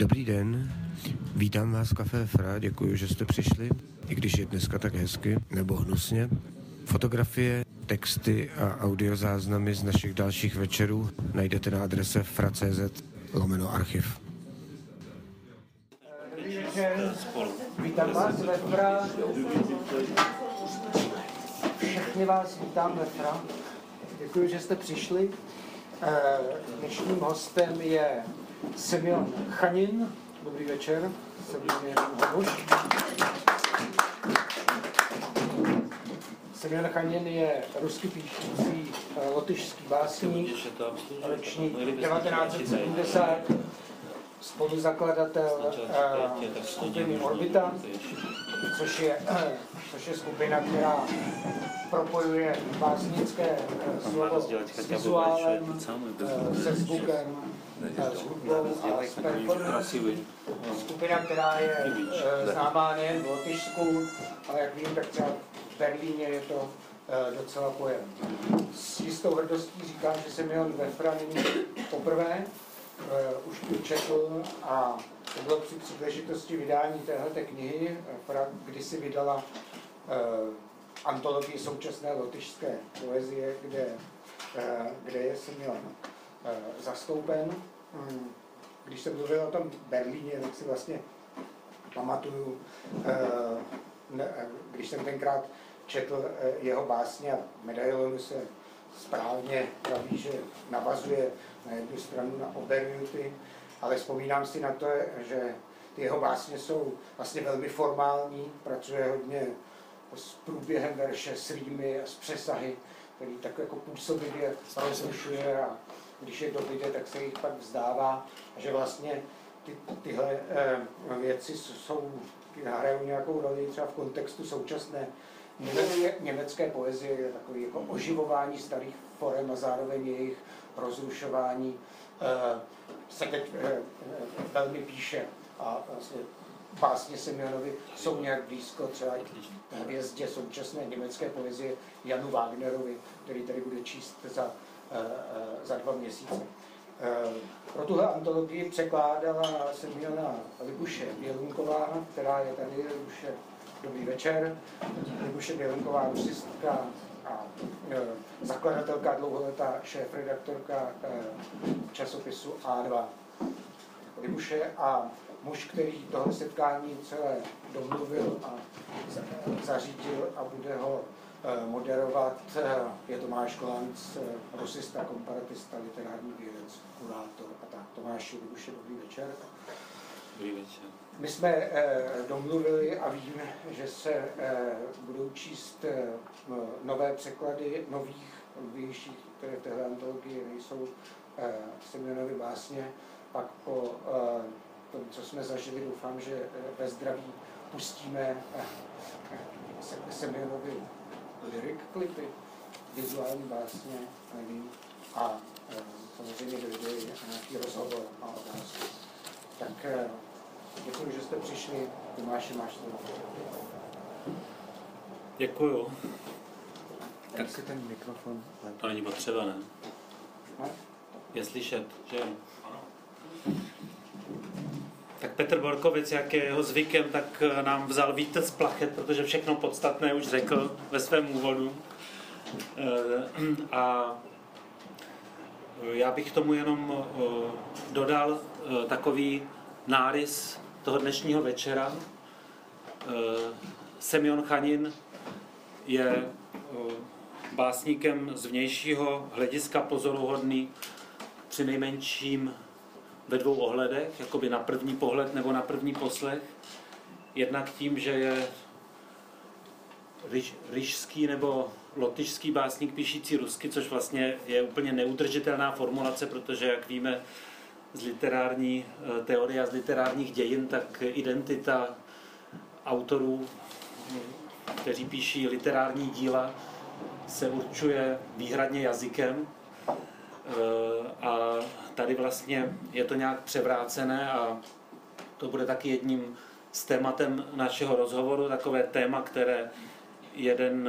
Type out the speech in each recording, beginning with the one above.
Dobrý den, vítám vás v Café Fra, děkuji, že jste přišli, i když je dneska tak hezky, nebo hnusně. Fotografie, texty a audiozáznamy z našich dalších večerů najdete na adrese fra.cz/archiv. Dobrý večer, vítám vás ve Fra. Všechny vás vítám ve Fra. Děkuji, že jste přišli. Dnešním hostem je Semjon Chanin. Dobrý večer. Semjon Chanin je rusky píšící lotyšský básník, ročník 1970, spoluzakladatel skupiny Orbita, což je skupina, která propojuje básnické slovo s vizuálem, se zvukem, s hudbou a s performancí. Skupina, která je známá nejen v Lotyšsku, ale jak vím, tak třeba v Berlíně je to docela pojem. S jistou hrdostí říkám, že Semjon ve Fra není poprvé, už tu četl a to bylo při příležitosti vydání téhleté knihy. Fra kdysi vydala antologii současné lotyšské poezie, kde je Semjon zastoupen. Když jsem mluvil o tom Berlíně, tak si vlastně pamatuju, když jsem tenkrát četl jeho básně a Medailonu se správně praví, že navazuje na jednu stranu na Oberjuty, ale vzpomínám si na to, že ty jeho básně jsou vlastně velmi formální, pracuje hodně s průběhem verše, s rýmy a s přesahy, který tak jako působivě rozlišuje a když je dobyde, tak se jich pak vzdává a že vlastně tyhle věci hrajou nějakou roli třeba v kontextu současné německé poezie, je takový jako oživování starých forem a zároveň jejich rozrušování se teď velmi píše a vlastně básně Semjonovi jsou nějak blízko třeba hvězdě současné německé poezie Janu Wagnerovi, který tady bude číst za 2 měsíce. Pro tuhle antologii překládala Semjona Libuše Bělounková, která je tady. Libuše, dobrý večer. Libuše Bělounková, rusistka a zakladatelka, dlouholetá šéfredaktorka časopisu A2. Libuše a muž, který tohle setkání celé domluvil a zařídil a bude ho moderovat, je Tomáš Kolanc, rusista, komparatista, literární vědec, kurátor a tak. Tomáši, Libuše, dobrý večer. Dobrý večer. My jsme domluvili a vím, že se budou číst nové překlady nových, novějších, které v téhle antologii nejsou Semjonovy básně. Pak po tom, co jsme zažili, doufám, že ve zdraví pustíme Semjonovi lyric klipy, vizuální básně, nevím, a samozřejmě dojde nějaký rozhovor a otázky. Tak děkuji, že jste přišli. Tomáši, máš slovo. Děkuju. Tak si ten mikrofon. To není potřeba, ne? Je slyšet, že jo? Tak Petr Borkovic, jak je jeho zvykem, tak nám vzal vítr z plachet, protože všechno podstatné už řekl ve svém úvodu. A já bych k tomu jenom dodal takový nárys toho dnešního večera. Semjon Chanin je básníkem z vnějšího hlediska pozoruhodný, přinejmenším ve 2 ohledech, jakoby na první pohled nebo na první poslech. Jednak tím, že je ryšský nebo lotyšský básník píšící rusky, což vlastně je úplně neudržitelná formulace, protože, jak víme z literární teorie a z literárních dějin, tak identita autorů, kteří píší literární díla, se určuje výhradně jazykem. A tady vlastně je to nějak převrácené a to bude taky jedním z tématem našeho rozhovoru, takové téma, které jeden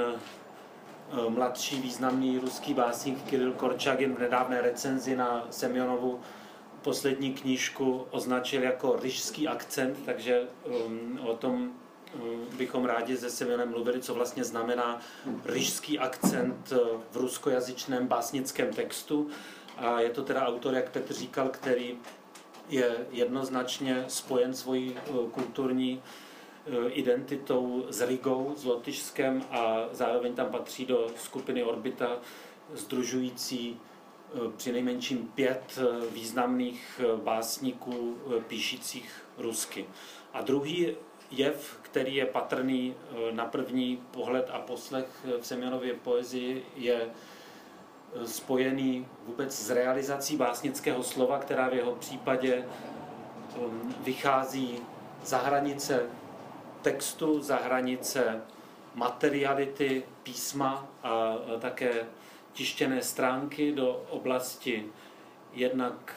mladší významný ruský básník Kiril Korčagin v nedávné recenzi na Semjonovu poslední knížku označil jako ryšský akcent, takže o tom bychom rádi se Semionem mluvili, co vlastně znamená ryšský akcent v ruskojazyčném básnickém textu. A je to teda autor, jak Petr říkal, který je jednoznačně spojen svojí kulturní identitou s Rigou, s Lotyšskem a zároveň tam patří do skupiny Orbita, sdružující přinejmenším 5 významných básníků píšících rusky. A druhý jev, který je patrný na první pohled a poslech v Semionově poezii, je spojený vůbec s realizací básnického slova, která v jeho případě vychází za hranice textu, za hranice materiality písma a také tištěné stránky do oblasti jednak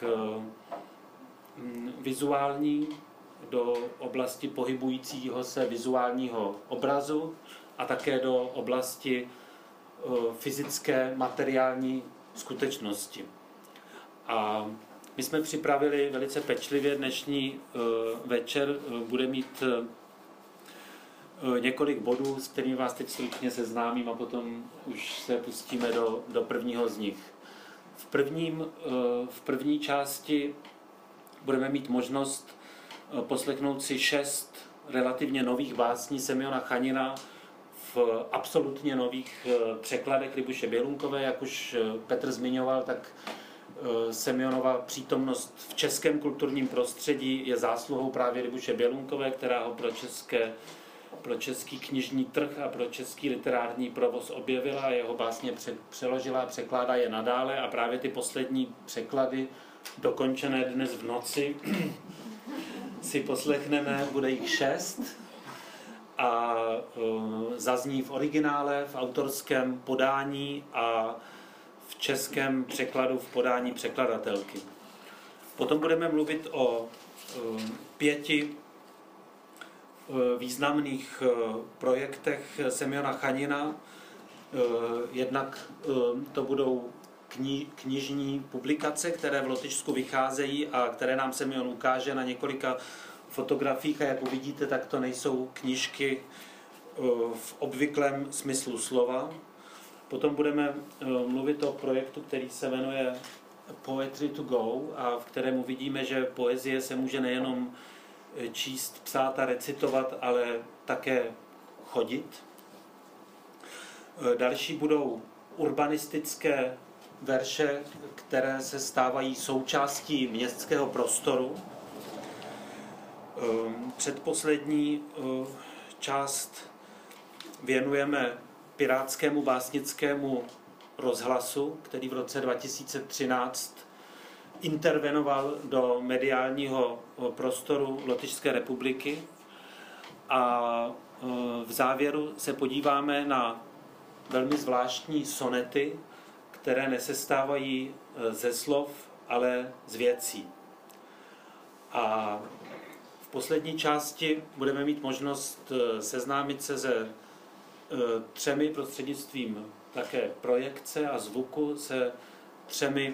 vizuální, do oblasti pohybujícího se vizuálního obrazu a také do oblasti fyzické, materiální skutečnosti. A my jsme připravili velice pečlivě dnešní večer, bude mít několik bodů, s kterými vás teď stručně seznámím a potom už se pustíme do prvního z nich. V první části budeme mít možnost poslechnout si 6 relativně nových básní Semjona Chanina v absolutně nových překladech Libuše Běhounkové. Jak už Petr zmiňoval, tak Semjonova přítomnost v českém kulturním prostředí je zásluhou právě Libuše Běhounkové, která ho pro český knižní trh a pro český literární provoz objevila a jeho básně přeložila a překládá je nadále a právě ty poslední překlady, dokončené dnes v noci, si poslechneme, bude jich 6 a zazní v originále, v autorském podání a v českém překladu v podání překladatelky. Potom budeme mluvit o 5 významných projektech Semjona Chanina. Jednak to budou knižní publikace, které v Lotyšsku vycházejí a které nám Semjon ukáže na několika fotografiích a jak uvidíte, tak to nejsou knížky v obvyklém smyslu slova. Potom budeme mluvit o projektu, který se jmenuje Poetry to Go a v kterém uvidíme, že poezie se může nejenom číst, psát a recitovat, ale také chodit. Další budou urbanistické verše, které se stávají součástí městského prostoru. Předposlední část věnujeme Pirátskému básnickému rozhlasu, který v roce 2013 intervenoval do mediálního prostoru Lotyšské republiky. A v závěru se podíváme na velmi zvláštní sonety, které nesestávají ze slov, ale z věcí. A v poslední části budeme mít možnost seznámit se se 3 prostřednictvím také projekce a zvuku, se 3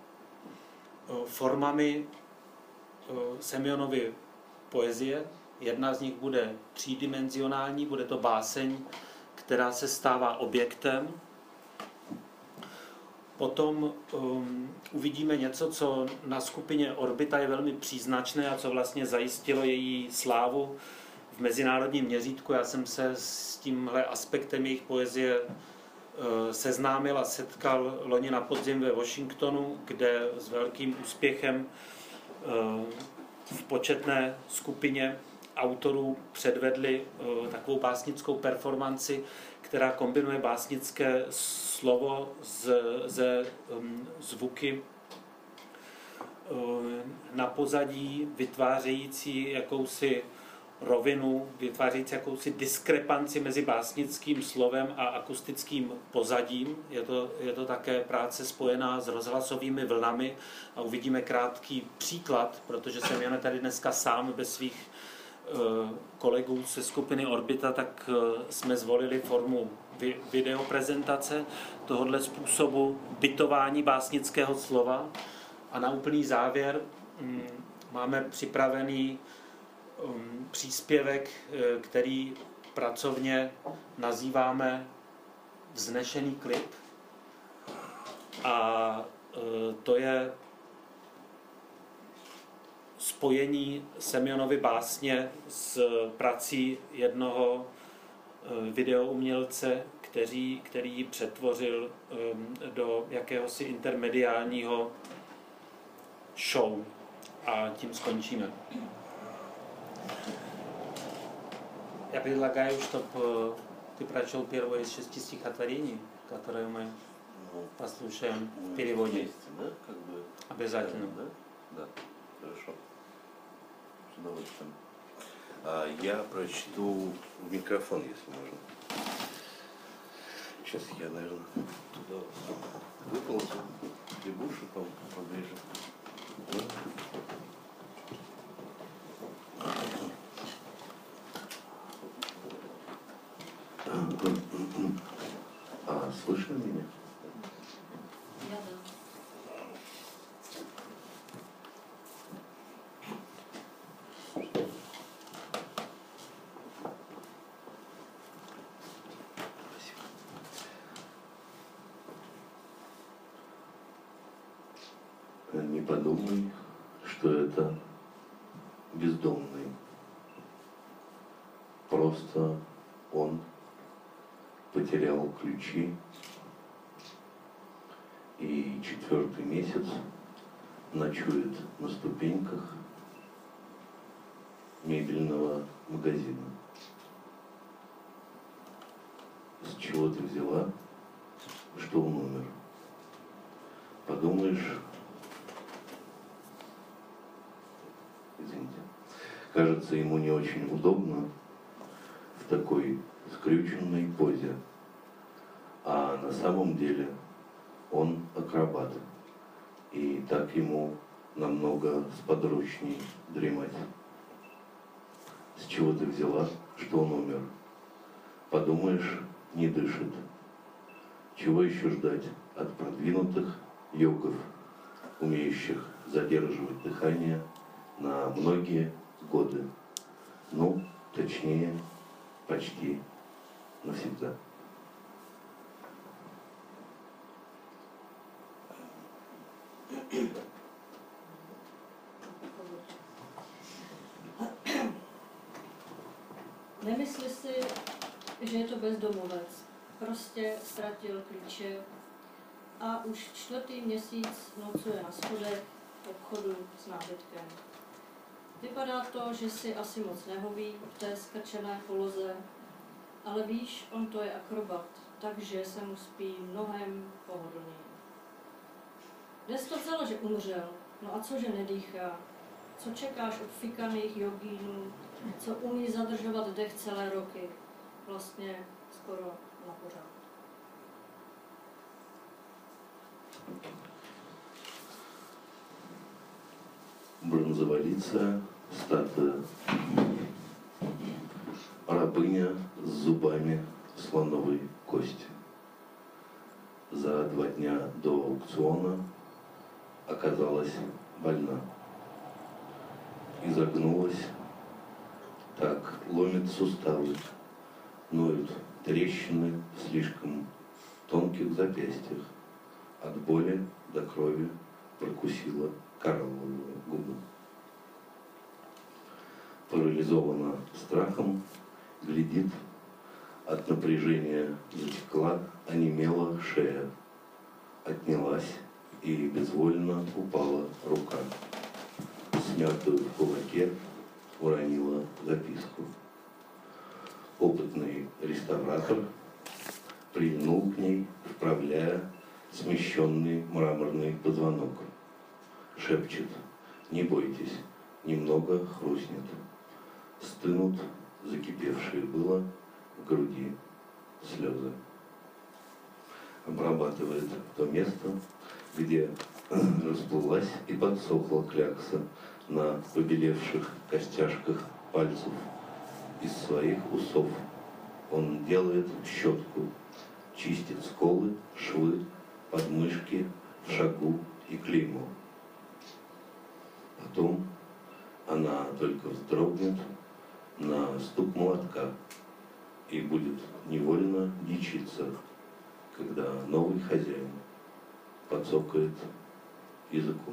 formami Semjonovy poezie. Jedna z nich bude třídimenzionální, bude to báseň, která se stává objektem. Potom uvidíme něco, co na skupině Orbita je velmi příznačné a co vlastně zajistilo její slávu v mezinárodním měřítku. Já jsem se s tímhle aspektem jejich poezie seznámil a setkal loni na podzim ve Washingtonu, kde s velkým úspěchem v početné skupině autorů předvedli takovou básnickou performanci, která kombinuje básnické slovo ze zvuky na pozadí, vytvářející jakousi rovinu, vytvářející jakousi diskrepanci mezi básnickým slovem a akustickým pozadím. Je to také práce spojená s rozhlasovými vlnami a uvidíme krátký příklad, protože jsem jen tady dneska sám bez svých kolegů ze skupiny Orbita, tak jsme zvolili formu videoprezentace tohoto způsobu bytování básnického slova a na úplný závěr máme připravený příspěvek, který pracovně nazýváme Vznešený klip. A to je spojení Semjonovy básně s prací jednoho videoumělce, který ji přetvořil do jakéhosi intermediálního show. A tím skončíme. Я предлагаю, чтобы ты прочел первое из 6 стихотворений, которые мы послушаем в переводе. Вместе, да? Как бы... Обязательно. Да? Да, хорошо. С удовольствием. Я прочту в микрофон, если можно. Сейчас я, наверное, туда выползу. Прибушу поближе. Слышно меня? Я да. Не подумай, что это бездомный. Просто он потерял ключи и 4-й месяц ночует на ступеньках мебельного магазина. С чего ты взяла, что он умер? Подумаешь, извините, кажется, ему не очень удобно в такой скрюченной позе, а на самом деле он акробат, и так ему намного сподручней дремать. С чего ты взяла, что он умер? Подумаешь, не дышит. Чего еще ждать от продвинутых йогов, умеющих задерживать дыхание на многие годы? Ну, точнее, почти навсегда. Nemyslí si, že je to bezdomovec. Prostě ztratil klíče a už 4. měsíc nocuje na schodech v obchodu s nábytkem. Vypadá to, že si asi moc nehoví v té skrčené poloze, ale víš, on to je akrobat, takže se mu spí mnohem pohodlněji. Kde jsi to vzala, že umřel? No a co, že nedýchá? Co čekáš od fikaných jogínů, co umí zadržovat dech celé roky? Vlastně skoro na pořád. Бронзоволицая статуя, рабыня с зубами слоновой кости. За 2 дня до аукциона оказалась больна. Изогнулась, так ломит суставы, ноют трещины в слишком тонких запястьях. От боли до крови прокусила коралловые губы. Парализована страхом, глядит, от напряжения затекла, онемела шея. Отнялась и безвольно упала рука. Смятую в кулаке уронила записку. Опытный реставратор прильнул к ней, вправляя смещенный мраморный позвонок. Шепчет: не бойтесь, немного хрустнет. Стынут закипевшие было в груди слезы. Обрабатывает то место, где расплылась и подсохла клякса на побелевших костяшках пальцев. Из своих усов он делает щетку, чистит сколы, швы, подмышки, в шагу и клеймо. Потом она только вздрогнет на стук молотка и будет невольно дичиться, когда новый хозяин подцокает языком.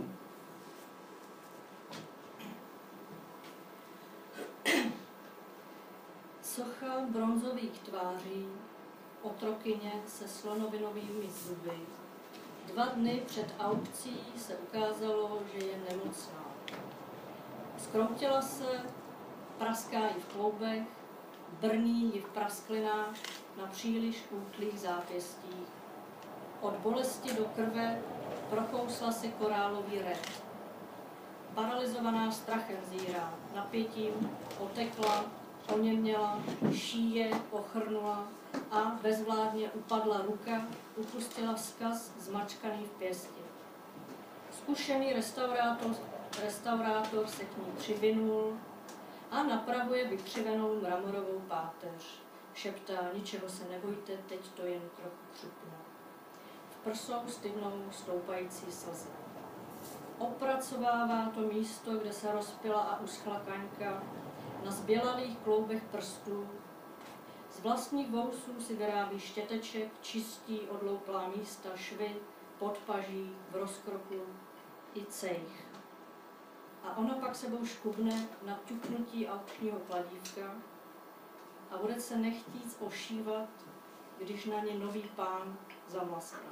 Socha bronzových tváří, otrokyně se slonovinovými zuby. 2 dny před aukcí se ukázalo, že je nemocná. Zkroutila se, praská jí v kloubech, brní jí v prasklinách na příliš útlých zápěstích. Od bolesti do krve prokousla si korálový red. Paralyzovaná strachem zírá, napětím, otekla, oněměla, šíje, ochrnula a bezvládně upadla ruka, upustila vzkaz zmačkaný v pěsti. Zkušený restaurátor se k ní přivinul a napravuje vykřivenou mramorovou páteř. Šeptá, ničeho se nebojte, teď to jen trochu křupne. V prsou stydnou stoupající slzy. Opracovává to místo, kde se rozpila a uschla kaňka, na zbělalých kloubech prstů. Z vlastních vousů si vyrábí štěteček, čistí odlouplá místa, švy, podpaží, v rozkroku i cejch. A ona pak sebou škubne na ťuknutí aukčního kladívka a bude se nechtít ošívat, když na ně nový pán zamlaskne.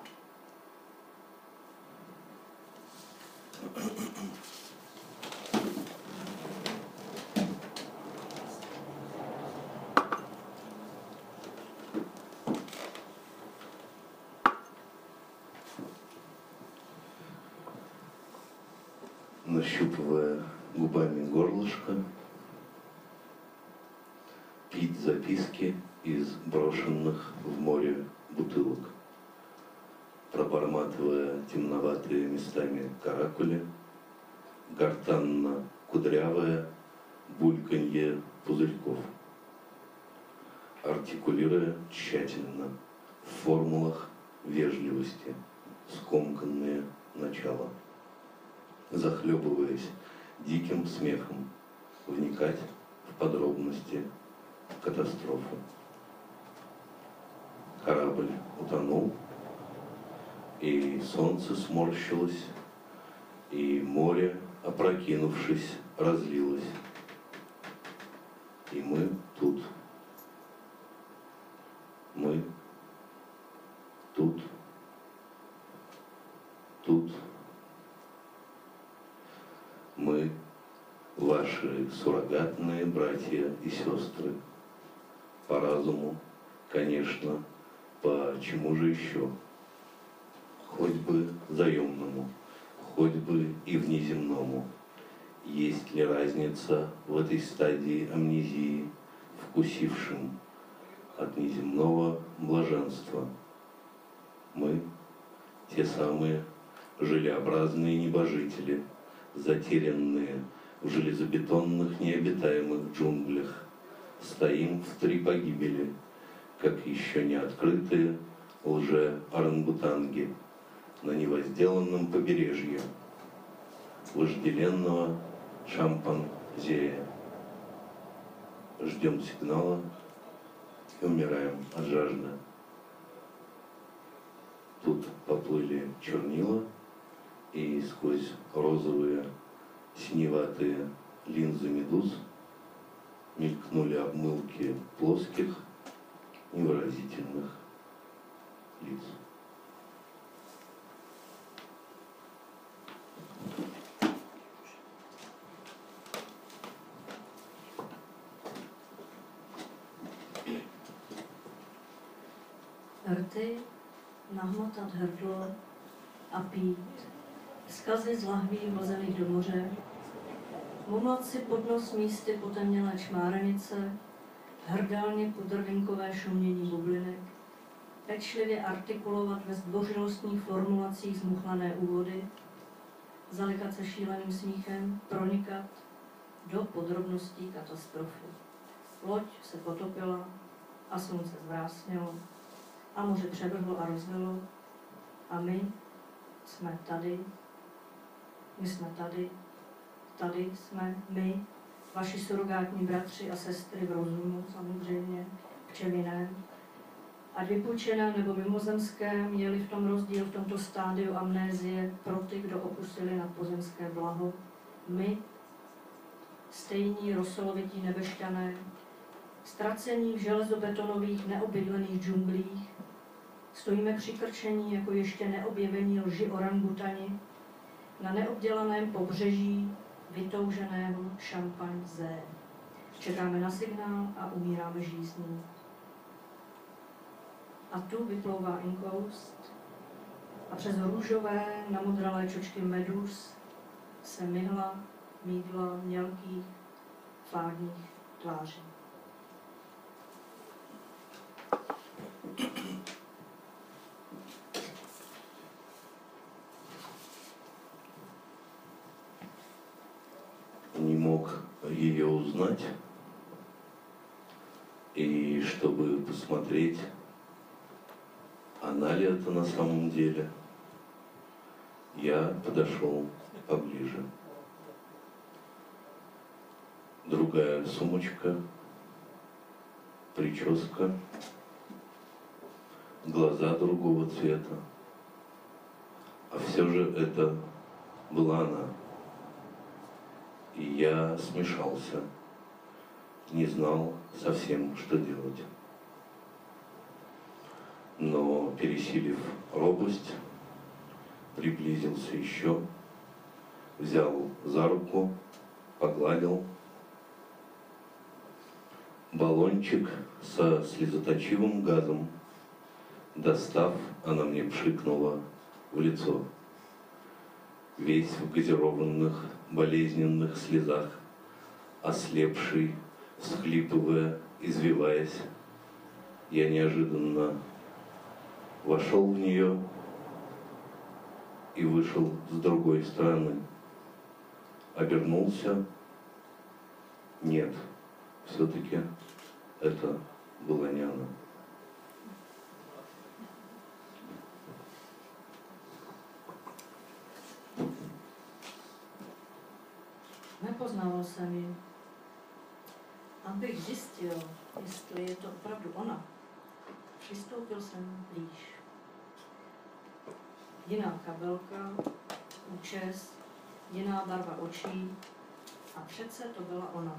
Нащупывая губами горлышко, пить записки из брошенных в море бутылок, проборматывая темноватые местами каракули, гортанно-кудрявое бульканье пузырьков, артикулируя тщательно в формулах вежливости скомканные начала, захлебываясь диким смехом, вникать в подробности катастрофы. Корабль утонул, и солнце сморщилось, и море, опрокинувшись, разлилось. И мы тут. Мы тут. Тут. Мы ваши суррогатные братья и сестры. По разуму, конечно, по чему же еще? Хоть бы заемному, хоть бы и внеземному. Есть ли разница в этой стадии амнезии, вкусившим от неземного блаженства? Мы, те самые желеобразные небожители, затерянные в железобетонных необитаемых джунглях, стоим в 3 погибели, как еще не открытые лже-орангутанги на невозделанном побережье вожделенного шампанзея. Ждем сигнала и умираем от жажды. Тут поплыли чернила, и сквозь розовые синеватые линзы медуз мелькнули обмылки плоских, невыразительных лиц. Rty, nahmotat hrdlo a pít, vzkazy z lahví hozených do moře, mumlat si pod nos místy potemnělé čmárenice, hrdelně podrvinkové šumění bublinek, pečlivě artikulovat ve zdvořilostních formulacích zmuchlané úvody, zalikat se šíleným smíchem, pronikat do podrobností katastrofy. Loď se potopila a slunce zvrásnělo a moře převrhlo a rozvilo a my jsme tady tady jsme my, vaši surogátní bratři a sestry v rozumu, samozřejmě, v čem ať vypůjčeném nebo mimozemském, měli v tom rozdíl v tomto stádiu amnézie pro ty, kdo opustili nadpozemské blaho. My, stejní rosolovití nebešťané, ztracení v železobetonových neobydlených džunglích, stojíme přikrčení jako ještě neobjevení lži orangutani na neobdělaném pobřeží vytouženého šampanzé. Čekáme na signál a umíráme žízní. A tu vyplouvá inkoust a přes růžové namodralé čočky medus se myhla mídla mělkých fádních tváří. Не мог ее узнать, и чтобы посмотреть, она ли это на самом деле, я подошел поближе. Другая сумочка, прическа, глаза другого цвета. А все же это была она. И я смешался, не знал совсем, что делать. Но, пересилив робость, приблизился еще, взял за руку, погладил. Баллончик со слезоточивым газом, достав, она мне пшикнула в лицо. Весь в газированных, болезненных слезах, ослепший, всхлипывая, извиваясь, я неожиданно вошел в нее и вышел с другой стороны. Обернулся. Нет, все-таки это была не она. Nepoznával jsem ji. Abych zjistil, jestli je to opravdu ona, přistoupil jsem blíž. Jiná kabelka, účes, jiná barva očí a přece to byla ona.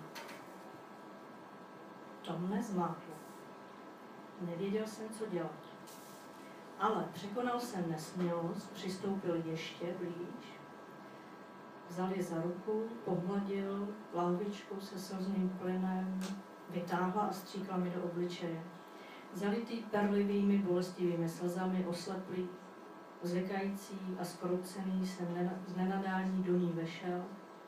To mne zmátlo. Nevěděl jsem, co dělat. Ale překonal jsem nesmělost, přistoupil ještě blíž, vzal je za ruku, pohladil lahvičku se slzným plynem, vytáhla a stříkla mi do obličeje. Zalitý perlivými bolestivými slzami, osleplý, zvekající a skroucený jsem z nenadání do ní vešel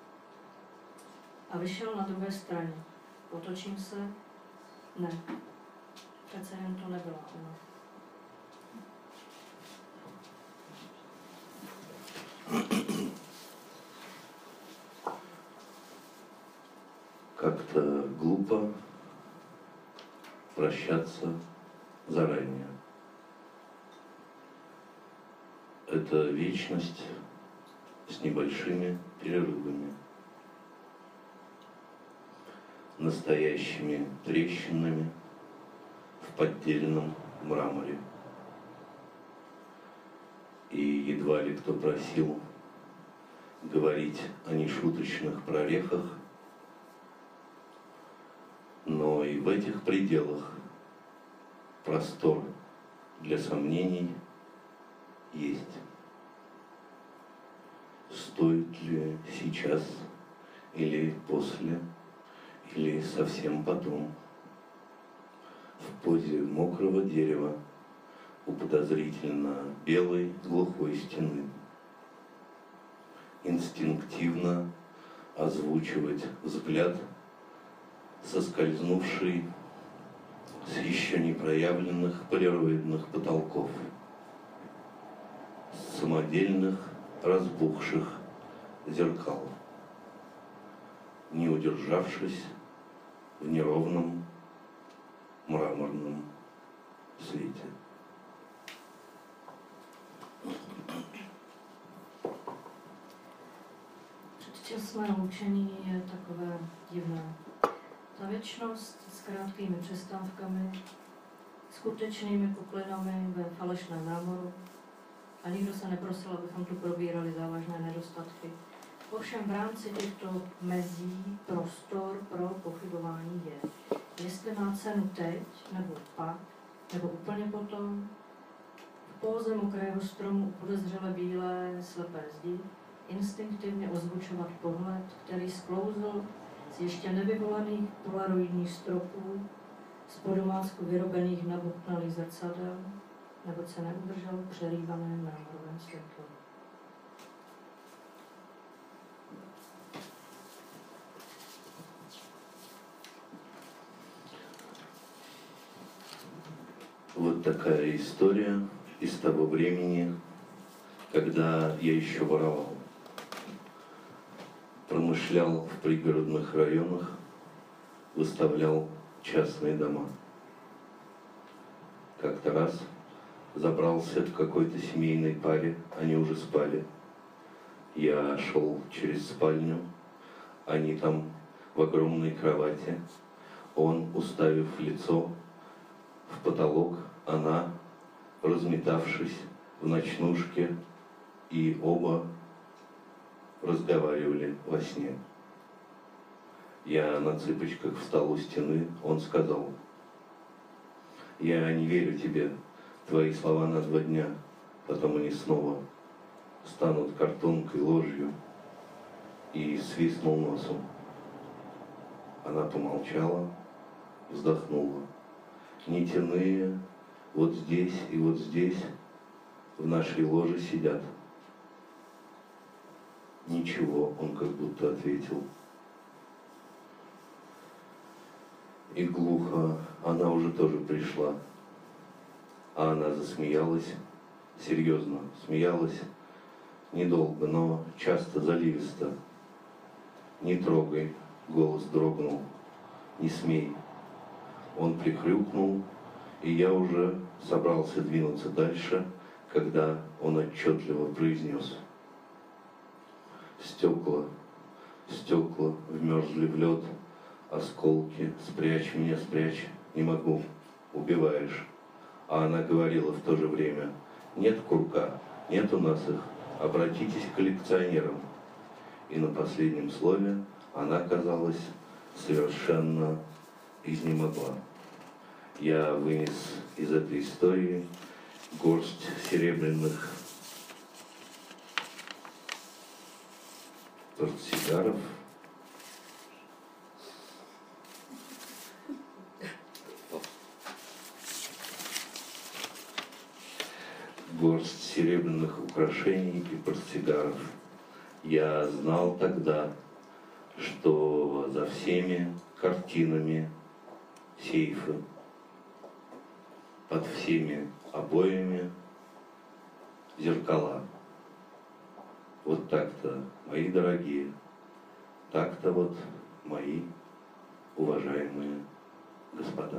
a vyšel na druhé straně. Otočím se, ne, přece jen to nebyla ona. Как-то глупо прощаться заранее. Это вечность с небольшими перерывами, настоящими трещинами в поддельном мраморе. И едва ли кто просил говорить о нешуточных прорехах, но и в этих пределах простор для сомнений есть. Стоит ли сейчас или после, или совсем потом, в позе мокрого дерева у подозрительно белой глухой стены, инстинктивно озвучивать взгляд, соскользнувший с еще не проявленных полироидных потолков, с самодельных разбухших зеркал, не удержавшись в неровном мраморном свете. dočasné loučení je takové divné. Ta věčnost s krátkými přestávkami, skutečnými puklinami ve falešném mramoru a nikdo se neprosil, abychom tu probírali závažné nedostatky. Ovšem v rámci těchto mezí prostor pro pochybování je. Jestli má cenu teď, nebo pak, nebo úplně potom, v póze mokrého stromu podezřele bílé slepé zdi, instinktivně ozvučovat pohled, který sklouzl z ještě nevyvolaných polaroidních stropů, z podomácku vyrobených nabobtnalých zrcadel, neboť se neudržel v přerývaném mramorovém světlu. Вот такая история из того времени, когда я еще воровал. Промышлял в пригородных районах, выставлял частные дома. Как-то раз забрался к какой-то семейной паре, они уже спали. Я шел через спальню, они там в огромной кровати, он, уставив лицо в потолок, она, разметавшись в ночнушке, и оба разговаривали во сне. Я на цыпочках встал у стены, он сказал: «Я не верю тебе, твои слова на 2 дня, потом они снова станут картонкой, ложью», и свистнул носом. Она помолчала, вздохнула. «Нитяные вот здесь и вот здесь в нашей ложе сидят». «Ничего», он как будто ответил. И глухо, она уже тоже пришла. А она засмеялась, серьезно, смеялась недолго, но часто, заливисто. «Не трогай», голос дрогнул, «не смей». Он прихрюкнул, и я уже собрался двинуться дальше, когда он отчетливо произнес: «Стекла, стекла вмерзли в лед, осколки, спрячь меня, спрячь, не могу, убиваешь». А она говорила в то же время: «Нет курка, нет у нас их, обратитесь к коллекционерам». И на последнем слове она, казалось, совершенно изнемогла. Я вынес из этой истории горсть серебряных портсигаров, горсть серебряных украшений и портсигаров. Я знал тогда, что за всеми картинами сейфы, под всеми обоями зеркала. Вот так-то, мои дорогие, так-то вот, мои уважаемые господа.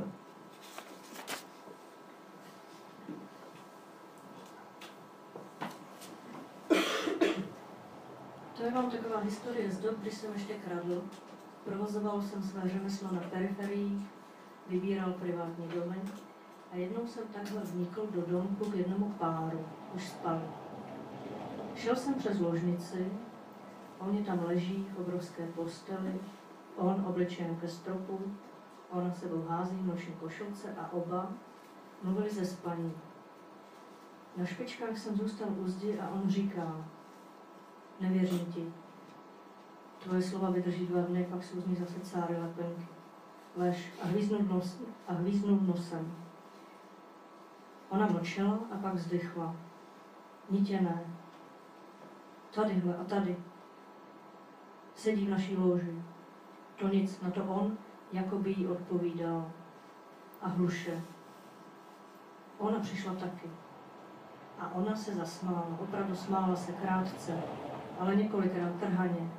To je vám taková historie z dob, kdy jsem ještě kradl. Provozoval jsem své řemeslo na periferiích, vybíral privátní domy a jednou jsem takhle vnikl do domku k jednomu páru, už spal. Šel jsem přes ložnici, oni tam leží v obrovské posteli, on obličejem ke stropu, ona sebou hází v noční košilce a oba mluvili ze spaní. Na špičkách jsem zůstal u zdi a on říká: nevěřím ti. Tvoje slova vydrží 2 dny, pak jsou z ní zase cáry lepenky. Lež a hvíznul nosem. Ona mlčela a pak vzdychla. Nitěné. Tadyhle a tady. Sedí v naší loži. To nic, na to on, jako by jí odpovídal. A hluše. Ona přišla taky. A ona se zasmála. Opravdu smála se krátce, ale několikrát trhaně.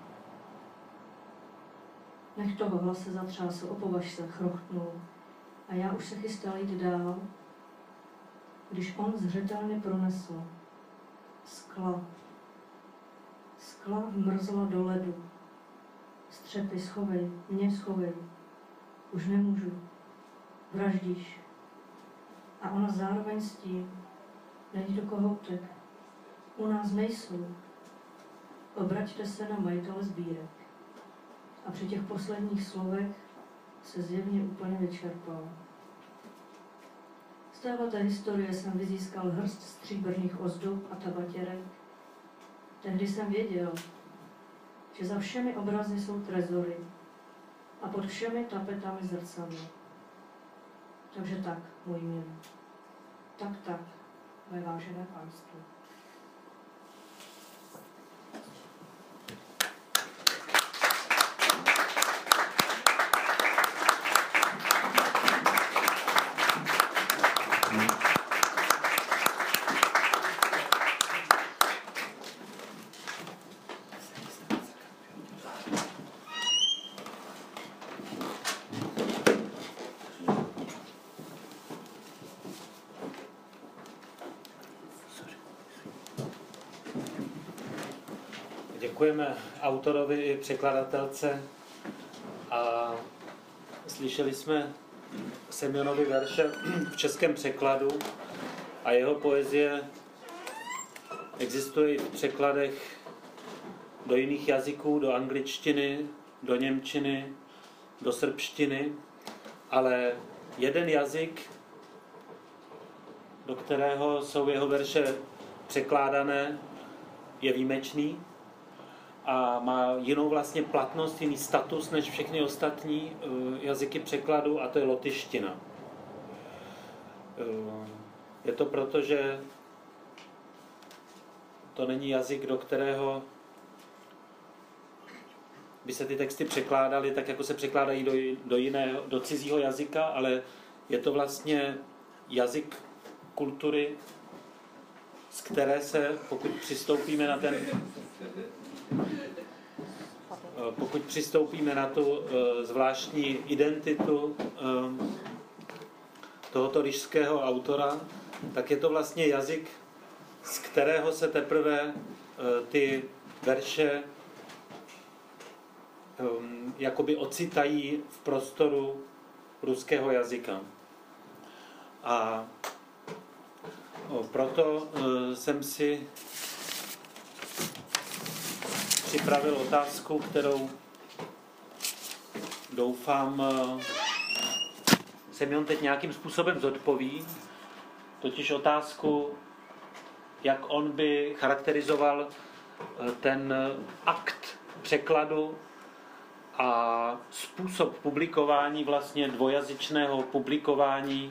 Nech toho hlas se zatřásl, opovaž se, chrochtnul. A já už se chystal jít dál, když on zřetelně pronesl: skla. Skla vmrzla do ledu. střepy, schovej, mě schovej, už nemůžu, vraždíš. A ona zároveň s tím, není do kohoutek, u nás nejsou. Obraťte se na majitele sbírek. A při těch posledních slovech se zjevně úplně vyčerpal. Z téhleté historie jsem vyzískal hrst stříbrných ozdob a tabatěrek. Tehdy jsem věděl, že za všemi obrazy jsou trezory a pod všemi tapetami zrcadlo. Takže tak, můj milý. Tak, mé vážené pánství. Děkujeme autorovi i překladatelce a slyšeli jsme Semjonovy verše v českém překladu a jeho poezie existuje i v překladech do jiných jazyků, do angličtiny, do němčiny, do srbštiny, ale jeden jazyk, do kterého jsou jeho verše překládané, je výjimečný a má jinou vlastně platnost, jiný status než všechny ostatní jazyky překladu, a to je lotyština. Je to proto, že to není jazyk, do kterého by se ty texty překládaly tak, jako se překládají do cizího jazyka, ale je to vlastně jazyk kultury, z které se, pokud přistoupíme na tu zvláštní identitu tohoto ryšského autora, tak je to vlastně jazyk, z kterého se teprve ty verše jakoby ocitají v prostoru ruského jazyka. A proto jsem si připravil otázku, kterou doufám Semjon teď nějakým způsobem zodpoví, totiž otázku, jak on by charakterizoval ten akt překladu a způsob publikování, vlastně dvojazyčného publikování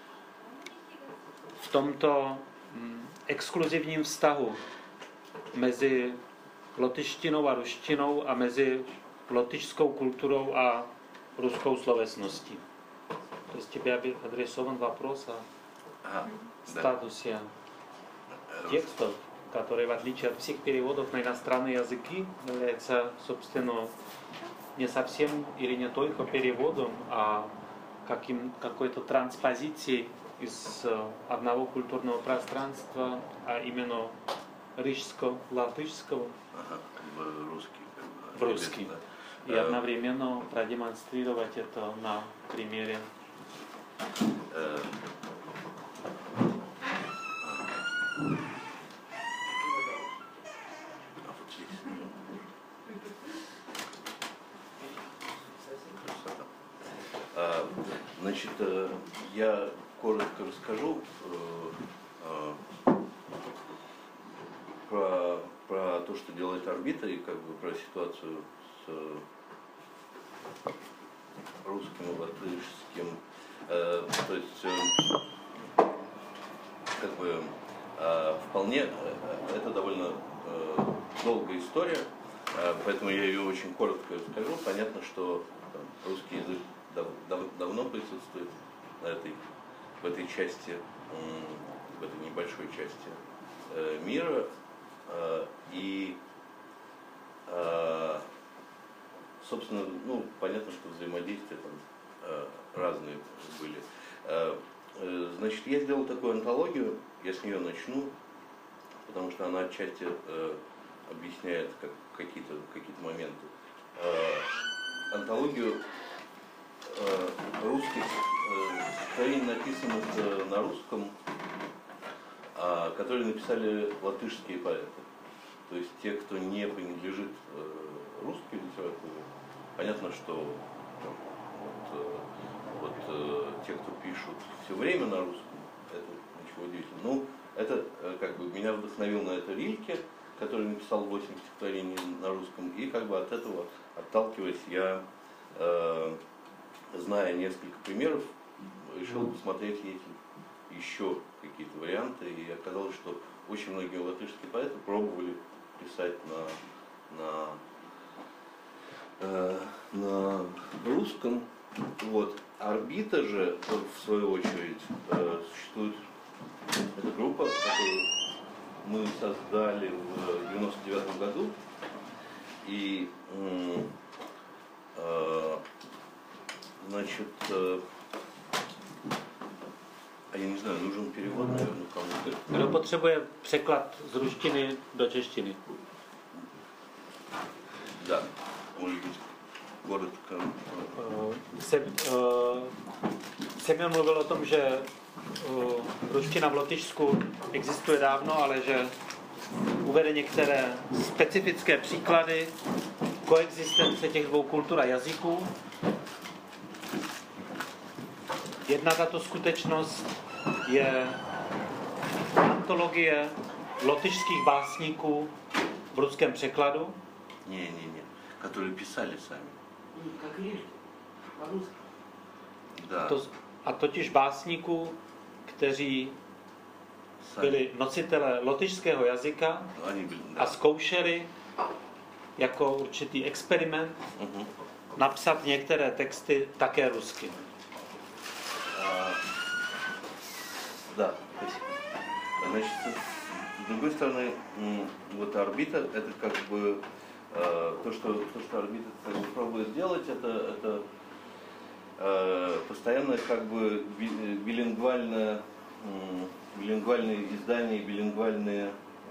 v tomto exkluzivním vztahu mezi lotyštinou a ruštinou a mezi lotyšskou kulturou a ruskou словесностí. То есть тебе адресован вопрос о статусе текстов, который в отличие от всех переводов на иностранные языки является, собственно, не совсем или не только переводом, а какой-то транспозицией из одного культурного пространства, а именно рижско-латышского в русский. И одновременно продемонстрировать это на примере. Значит, я коротко расскажу про то, что делает орбита, и как бы про ситуацию с русским и латышским. То есть, как бы, вполне, это довольно долгая история, поэтому я ее очень коротко расскажу. Понятно, что русский язык давно присутствует в этой части, в этой небольшой части мира, и, собственно, ну, понятно, что взаимодействия там разные были. Значит, я сделал такую антологию, я с нее начну, потому что она отчасти объясняет какие-то моменты. антологию русских стихотворений, написанных на русском, которые написали латышские поэты. То есть те, кто не принадлежит русской литературе, понятно, что те, кто пишут все время на русском, это ничего удивительного. Ну, это как бы меня вдохновил на это Рильке, который написал 8 стихотворений на русском, и как бы от этого, отталкиваясь, я, зная несколько примеров, решил посмотреть, есть ли еще какие-то варианты, и оказалось, что очень многие латышские поэты пробовали писать на русском. Вот. Орбита же, в свою очередь, существует, эта группа, которую мы создали в 99 году, и значит, я не знаю, нужен перевод, наверное, кому-то. Kdo potřebuje překlad z ruštiny do češtiny? Да, может быть, коротко. Semyon mluvil o tom, že ruština v Lotyšsku existuje dávno, ale že uvede některé specifické příklady koexistence těch dvou kultur a jazyků. Jedna tato skutečnost je antologie lotyšských básníků v ruském překladu. Не, которые pисali сами. Как Рильке, по-русски. Да. A totiž básníků, kteří byli nositelé lotyšského jazyka a zkoušeli jako určitý experiment napsat některé texty také rusky. Да, спасибо. Значит, с другой стороны, вот орбита, это как бы то, что орбита как бы пробует сделать, это постоянное как бы билингвальное издание, билингвальное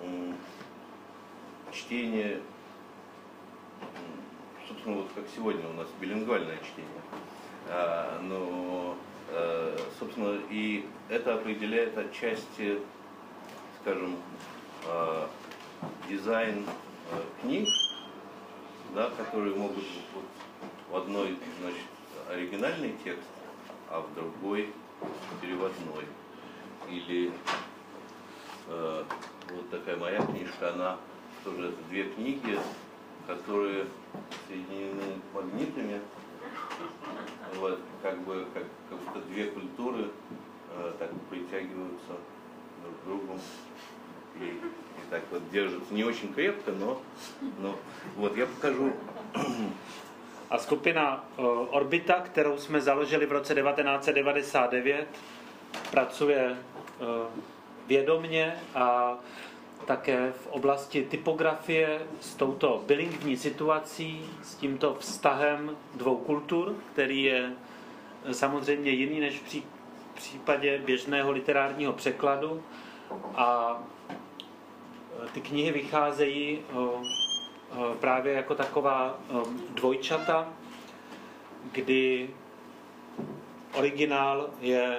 чтение, собственно, вот как сегодня у нас билингвальное чтение. Но, собственно, и это определяет отчасти, скажем, дизайн книг, да, которые могут вот, в одной, значит, оригинальный текст, а в другой переводной. Или вот такая моя книжка, она тоже это две книги, которые соединены магнитами, вот, как будто две культуры так притягиваются друг к другу и так вот держатся не очень крепко, но вот я покажу. A skupina Orbita, kterou jsme založili v roce 1999, pracuje vědomně a také v oblasti typografie s touto bilingvní situací, s tímto vztahem dvou kultur, který je samozřejmě jiný než v případě běžného literárního překladu. A ty knihy vycházejí právě jako taková dvojčata, kdy originál je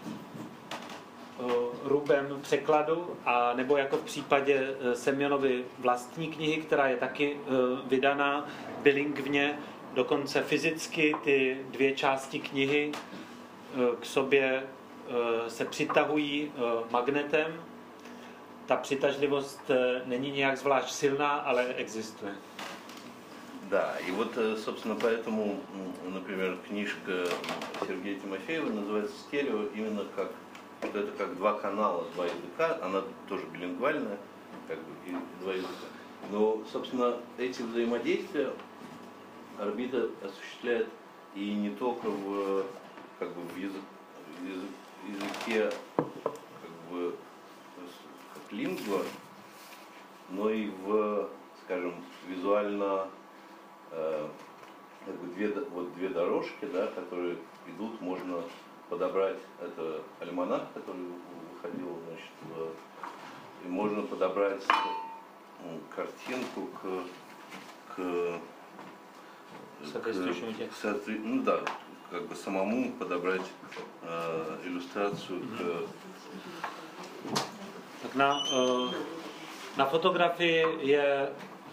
rubem překladu, a nebo jako v případě Semjonovy vlastní knihy, která je taky vydaná bilingvně, dokonce fyzicky ty dvě části knihy k sobě se přitahují magnetem. Ta přitažlivost není nějak zvlášť silná, ale existuje. Да, и вот, собственно, поэтому, например, книжка Сергея Тимофеева называется «Стерео» именно как, что это как два канала, два языка, она тоже билингвальная, как бы, и два языка. Но, собственно, эти взаимодействия орбита осуществляет и не только в, как бы, в языке как бы, как лингва, но и в, скажем, визуально как бы две дорожки, да, которые идут, можно подобрать, это альманах, который выходил, значит, и можно подобрать картинку к Ну да, как бы самому подобрать иллюстрацию к... Tak na fotografii je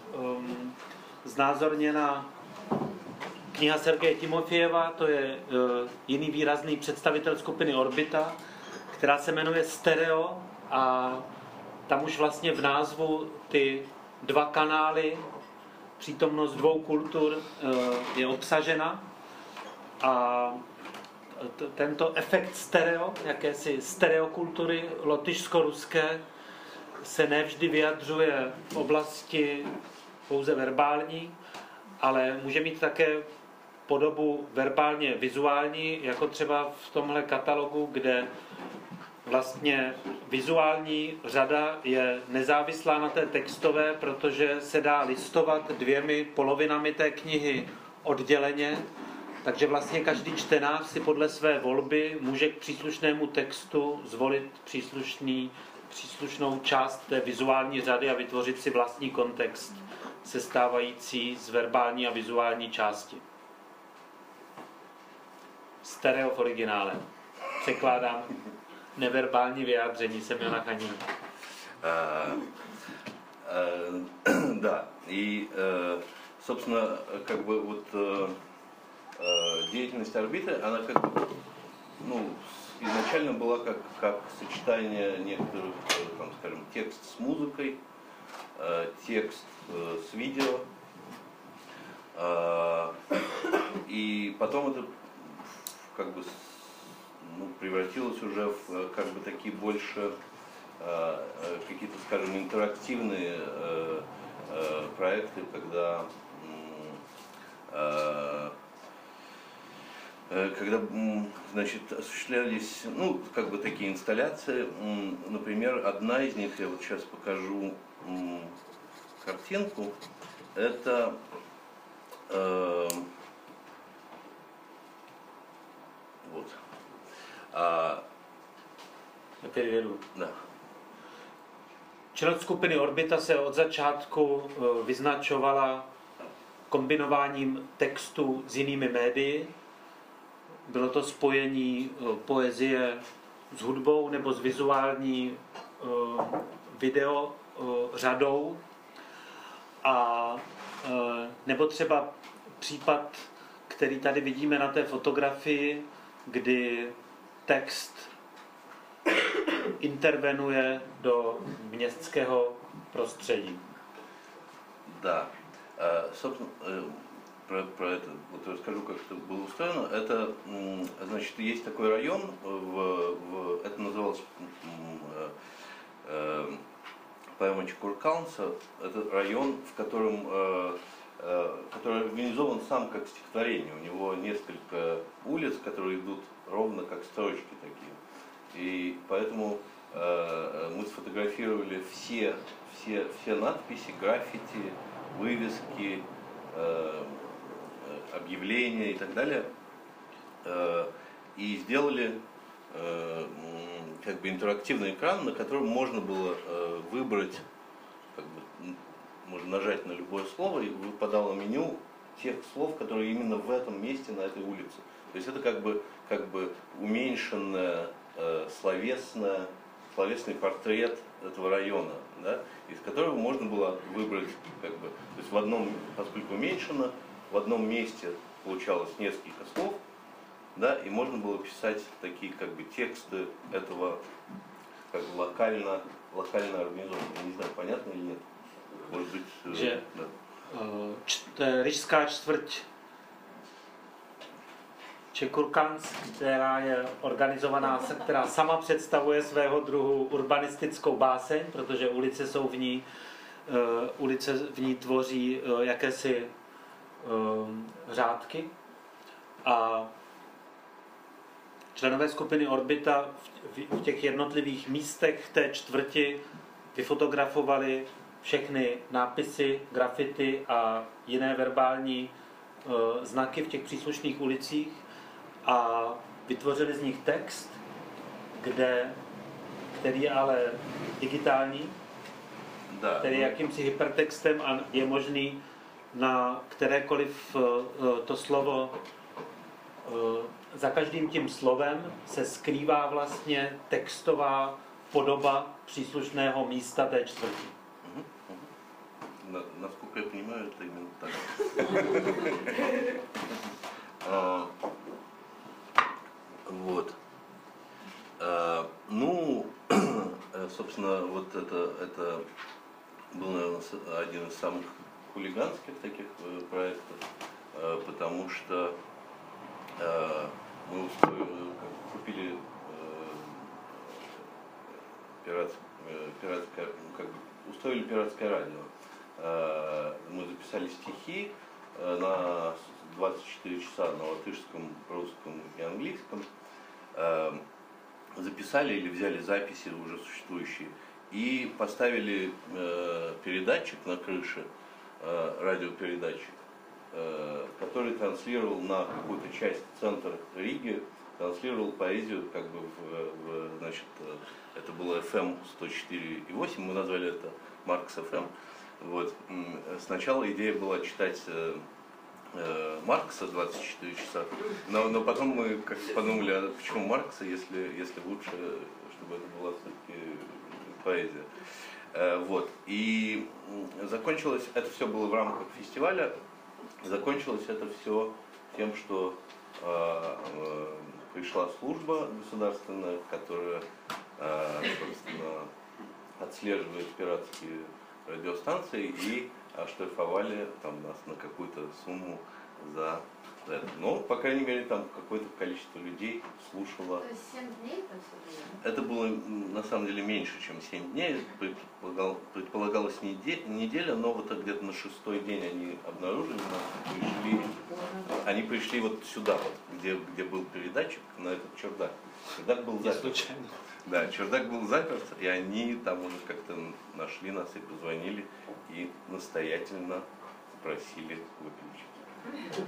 znázorněna kniha Sergeje Timofejeva, to je jiný výrazný představitel skupiny Orbita, která se jmenuje Stereo a tam už vlastně v názvu ty dva kanály, přítomnost dvou kultur je obsažena a tento efekt stereo, jakési stereokultury lotyšsko-ruské se nevždy vyjadřuje v oblasti pouze verbální, ale může mít také podobu verbálně vizuální, jako třeba v tomhle katalogu, kde vlastně vizuální řada je nezávislá na té textové, protože se dá listovat dvěmi polovinami té knihy odděleně, takže vlastně každý čtenář si podle své volby může k příslušnému textu zvolit příslušnou část té vizuální řady a vytvořit si vlastní kontext, sestávající z verbální a vizuální části. Stereo v originále. Překládám neverbální vyjádření Semjona Chanina. Да, и, собственно, как бы вот деятельность орбиты, она как бы, ну, изначально была как сочетание некоторых, там, скажем, текст с музыкой, текст с видео, и потом это как бы превратилось уже в как бы такие больше какие-то, скажем, интерактивные проекты, когда значит, осуществлялись, ну, как бы такие инсталляции. Например, одна из них, я вот сейчас покажу картинку, это вот. Da. Činnost skupiny Orbita se od začátku vyznačovala kombinováním textu s jinými médii. Bylo to spojení poezie s hudbou nebo s vizuální video řadou a nebo třeba případ, který tady vidíme na té fotografii, kdy text intervenuje do městského prostředí. Да. Собственно, про это вот расскажу, как это было устроено. Это, значит, есть такой район, это называлось поэма Чекуркаунса. Это район, в котором, который организован сам как стихотворение. У него несколько улиц, которые идут ровно как строчки такие. И поэтому мы сфотографировали все надписи, граффити, вывески, объявления и так далее. И сделали как бы интерактивный экран, на котором можно было выбрать, как бы, можно нажать на любое слово, и выпадало меню тех слов, которые именно в этом месте, на этой улице. То есть это как бы уменьшенное словесный портрет этого района, да, из которого можно было выбрать, как бы, то есть в одном, поскольку уменьшено, в одном месте получалось несколько слов, да, и можно было писать такие как бы тексты этого как бы локально организованного. Я не знаю, понятно или нет. Может быть, že да. Ryšská čtvrť Čekurkans, která je organizovaná, která sama představuje svého druhu urbanistickou báseň, protože ulice v ní tvoří jakési řádky a členové skupiny Orbita v těch jednotlivých místech té čtvrti vyfotografovali všechny nápisy, grafity a jiné verbální znaky v těch příslušných ulicích a vytvořili z nich text, který je ale digitální, který je jakýmsi hypertextem a je možný na kterékoliv to slovo, za každým tím slovem se skrývá vlastně textová podoba příslušného místa té čtvrti. Насколько я понимаю, это именно так. Вот. Ну, собственно, вот это был, наверное, один из самых хулиганских таких проектов, потому что мы купили пиратское, как бы, устроили пиратское радио. Мы записали стихи на 24 часа на латышском, русском и английском. Записали или взяли записи уже существующие и поставили передатчик на крыше, радиопередатчик, который транслировал на какую-то часть центра Риги, транслировал поэзию, как бы значит, это было FM 104,8, мы назвали это Маркс FM. Вот. Сначала идея была читать Маркса 24 часа, но потом мы как-то подумали, а почему Маркса, если лучше, чтобы это была все-таки поэзия. Вот. И закончилось, это все было в рамках фестиваля, закончилось это все тем, что пришла служба государственная, которая, собственно, отслеживает пиратские радиостанции и оштрафовали там нас на какую-то сумму за это. Но, по крайней мере, там какое-то количество людей слушало. То есть 7 дней это все было? Это было на самом деле меньше, чем 7 дней. Предполагалась неделя, но вот где-то на 6-й день они обнаружили нас, они пришли вот сюда, вот, где был передатчик, на этот чердак. Чердак был заперт. Да, чердак был заперт, и они там уже как-то нашли нас и позвонили, и настоятельно просили выключить.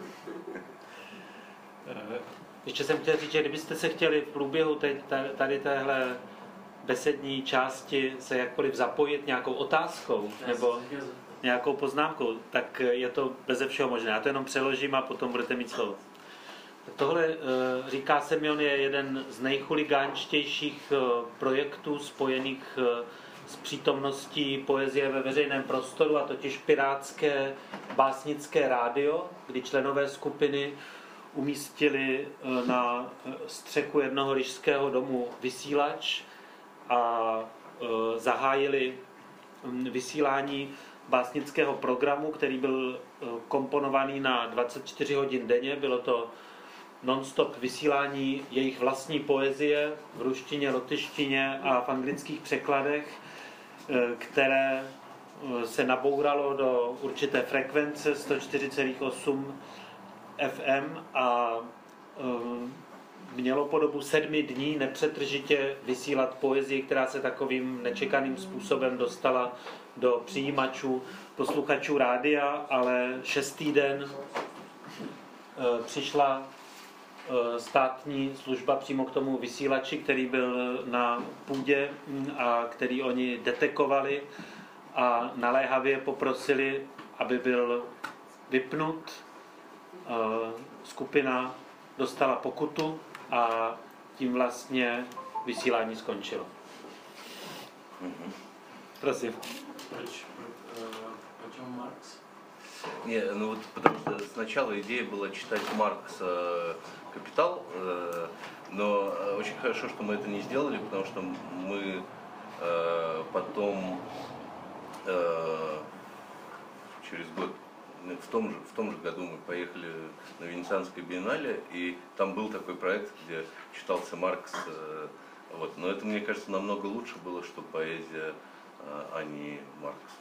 Ještě jsem chtěl říct, že kdybyste se chtěli v průběhu tady téhle besední části se jakkoliv zapojit nějakou otázkou nebo nějakou poznámkou, tak je to beze všeho možné. Já to jenom přeložím a potom budete mít slovo. Tohle, říká Semjon, je jeden z nejchuligánštějších projektů spojených s přítomností poezie ve veřejném prostoru, a totiž pirátské básnické rádio, kdy členové skupiny umístili na střechu jednoho ryšského domu vysílač a zahájili vysílání básnického programu, který byl komponovaný na 24 hodin denně. Bylo to non-stop vysílání jejich vlastní poezie v ruštině, lotyštině a v anglických překladech, které se nabouralo do určité frekvence 104,8 FM a mělo po dobu 7 dní nepřetržitě vysílat poezii, která se takovým nečekaným způsobem dostala do přijímačů posluchačů rádia, ale 6. den přišla státní služba přímo k tomu vysílači, který byl na půdě a který oni detekovali a naléhavě poprosili, aby byl vypnut. Skupina dostala pokutu a tím vlastně vysílání skončilo. Prosím. Почему Маркс? Не, ну вот потому что сначала идея была читать Маркса «Капитал», но очень хорошо, что мы это не сделали, потому что мы потом через год, в том же году мы поехали на Венецианское биеннале, и там был такой проект, где читался Маркс. Вот. Но это, мне кажется, намного лучше было, что поэзия, а не Маркс.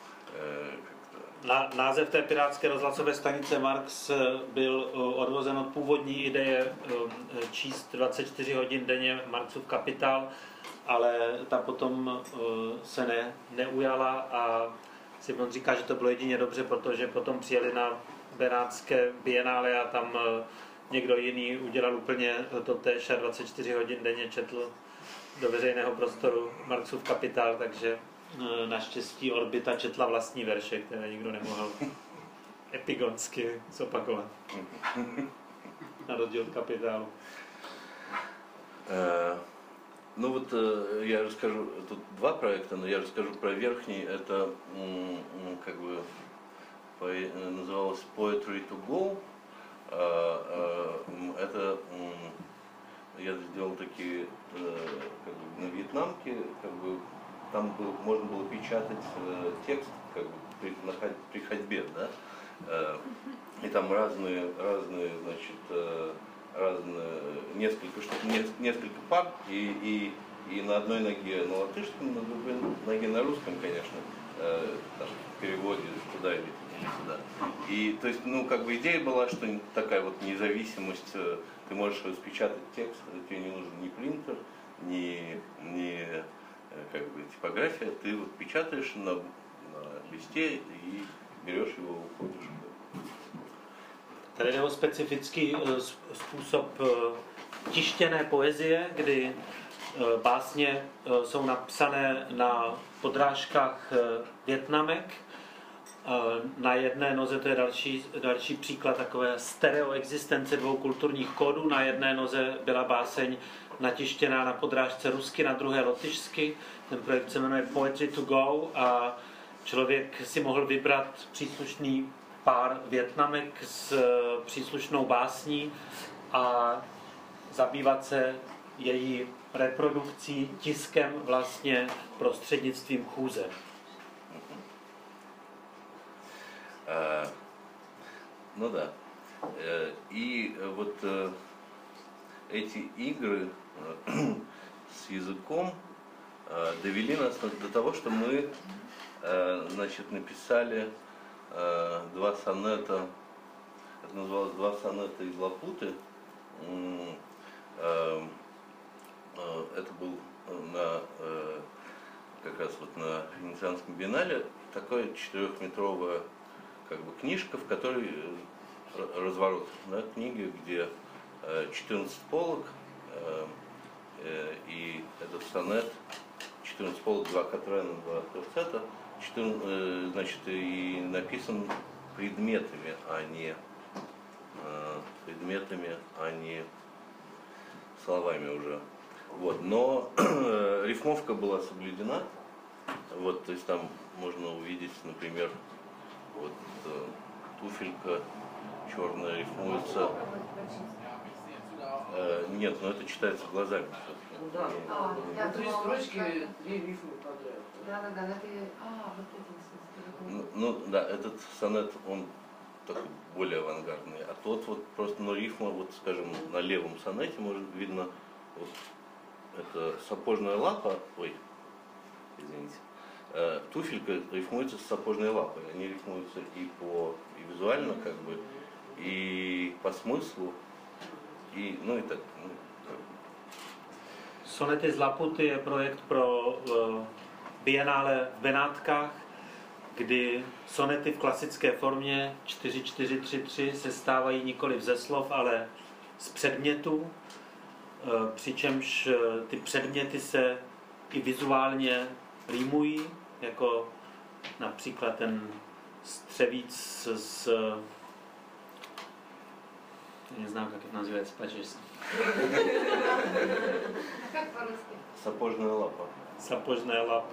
Název té pirátské rozhlasové stanice Marx byl odvozen od původní ideje číst 24 hodin denně Marxův Kapitál, ale ta potom se neujala a Simon říká, že to bylo jedině dobře, protože potom přijeli na Benátské bienále a tam někdo jiný udělal úplně totéž a 24 hodin denně četl do veřejného prostoru Marxův Kapitál, takže naštěstí Orbita četla vlastní verše, které nikdo nemohl epigonsky zopakovat. Na rozdíl od Kapitálu. Ну вот я расскажу, тут два проекта, но я расскажу про верхний. Это как бы называлось Poetry to Go. Это я сделал такие как бы, на вьетнамке, как бы там можно было печатать текст как бы при ходьбе, да, и там разные, значит, несколько пар, и на одной ноге на латышском, на другой ноге на русском, конечно, там, в переводе туда или сюда. И то есть, ну, как бы идея была, что такая вот независимость, ты можешь распечатать текст, тебе не нужен ни принтер, ни как бы типография, ты вот печатаешь на листе и берешь его, уходишь. Tady jde o specifický způsob tištěné poezie, kdy básně jsou napsané na podrážkách vietnamek. Na jedné noze, to je další příklad takové stereoexistence dvou kulturních kódů. Na jedné noze byla báseň natištěná na podrážce rusky, na druhé lotyšsky. Ten projekt se jmenuje Poetry to Go a člověk si mohl vybrat příslušný pár vietnamek s příslušnou básní a zabývat se její reprodukcí, tiskem vlastně prostřednictvím chůze. Ну да. И вот эти игры с языком довели нас до того, что мы, значит, написали два сонета, это называлось «Два сонета из Лапуты». Это был как раз вот на Венецианском биеннале такая 4-метровая как бы книжка, в которой разворот, да, книги, где 14 полок, и этот сонет, 14 полок, 2 Катрена, 2 терцета, значит, и написан предметами, а не словами уже. Вот. Но рифмовка была соблюдена. Вот, то есть там можно увидеть, например, вот туфелька черная рифмуется. Нет, но это читается глазами. Да. Три строчки, 3 рифмы подряд. Да, вот это. Ну да, этот сонет, он такой более авангардный, а тот вот просто, ну, рифма, вот скажем, на левом сонете может видно, вот это сапожная лапа, ой, извините, туфелька рифмуется с сапожной лапой, они рифмуются и визуально как бы, и по смыслу, и, ну и так, ну, Sonety z Laputy je projekt pro Biennále v Benátkách, kdy sonety v klasické formě 4-4-3-3 se stávají nikoliv ze slov, ale z předmětů, přičemž ty předměty se i vizuálně rýmují, jako například ten střevíc neznám, jak to nazývají, pačeš. Как по-русски? Сапожная лапа. Сапожная лапа.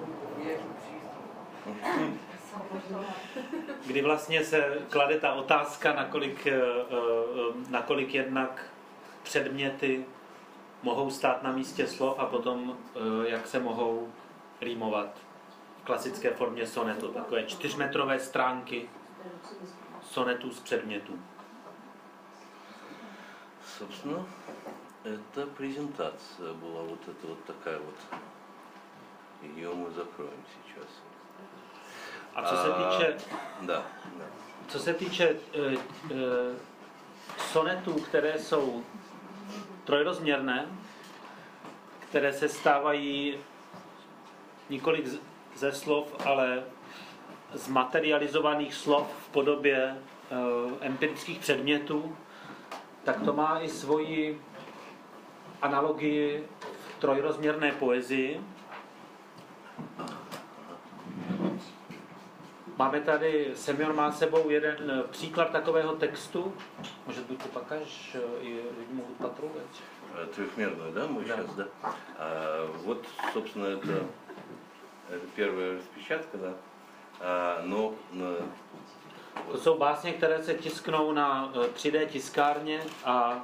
Kdy vlastně se klade ta otázka, nakolik jednak předměty mohou stát na místě slov a potom jak se mohou rýmovat v klasické formě sonetu. Takové 4metrové stránky sonetů z předmětů. Собственно, это презентация была вот эта вот такая вот. Ее мы закроем сейчас. A co se týče, да. co se týče sonetů, které jsou trojrozměrné, které se stávají nikoliv ze slov, ale z materializovaných slov v podobě empirických předmětů, tak to má i svoji analogii v trojrozměrné poezii. Máme tady, Semjon má s sebou jeden příklad takového textu. Может быть, ты покажешь, и люди могут потрогать. Трехмерную, да, мы сейчас, да? Вот, собственно, это первая распечатка, да. Но To jsou básně, které se tisknou na 3D tiskárně a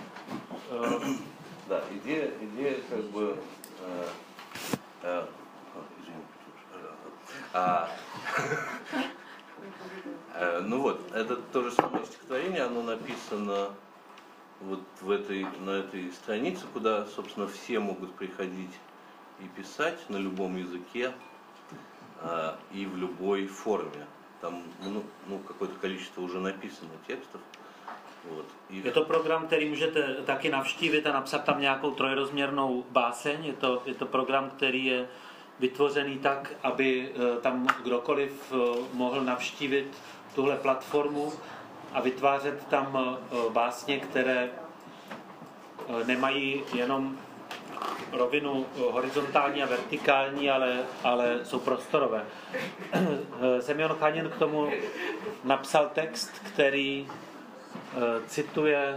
да, идея как бы извините, ну вот, это то же самое стихотворение, оно написано вот на этой странице, куда, собственно, все могут приходить и писать на любом языке и в любой форме. Там какое-то количество уже написано текстов. Вот. Je to program, který můžete taky navštívit a napsat tam nějakou trojrozměrnou báseň. Je to program, který je vytvořený tak, aby tam kdokoliv mohl navštívit tuhle platformu a vytvářet tam básně, které nemají jenom rovinu horizontální a vertikální, ale jsou prostorové. Semjon Chanin k tomu napsal text, který cituje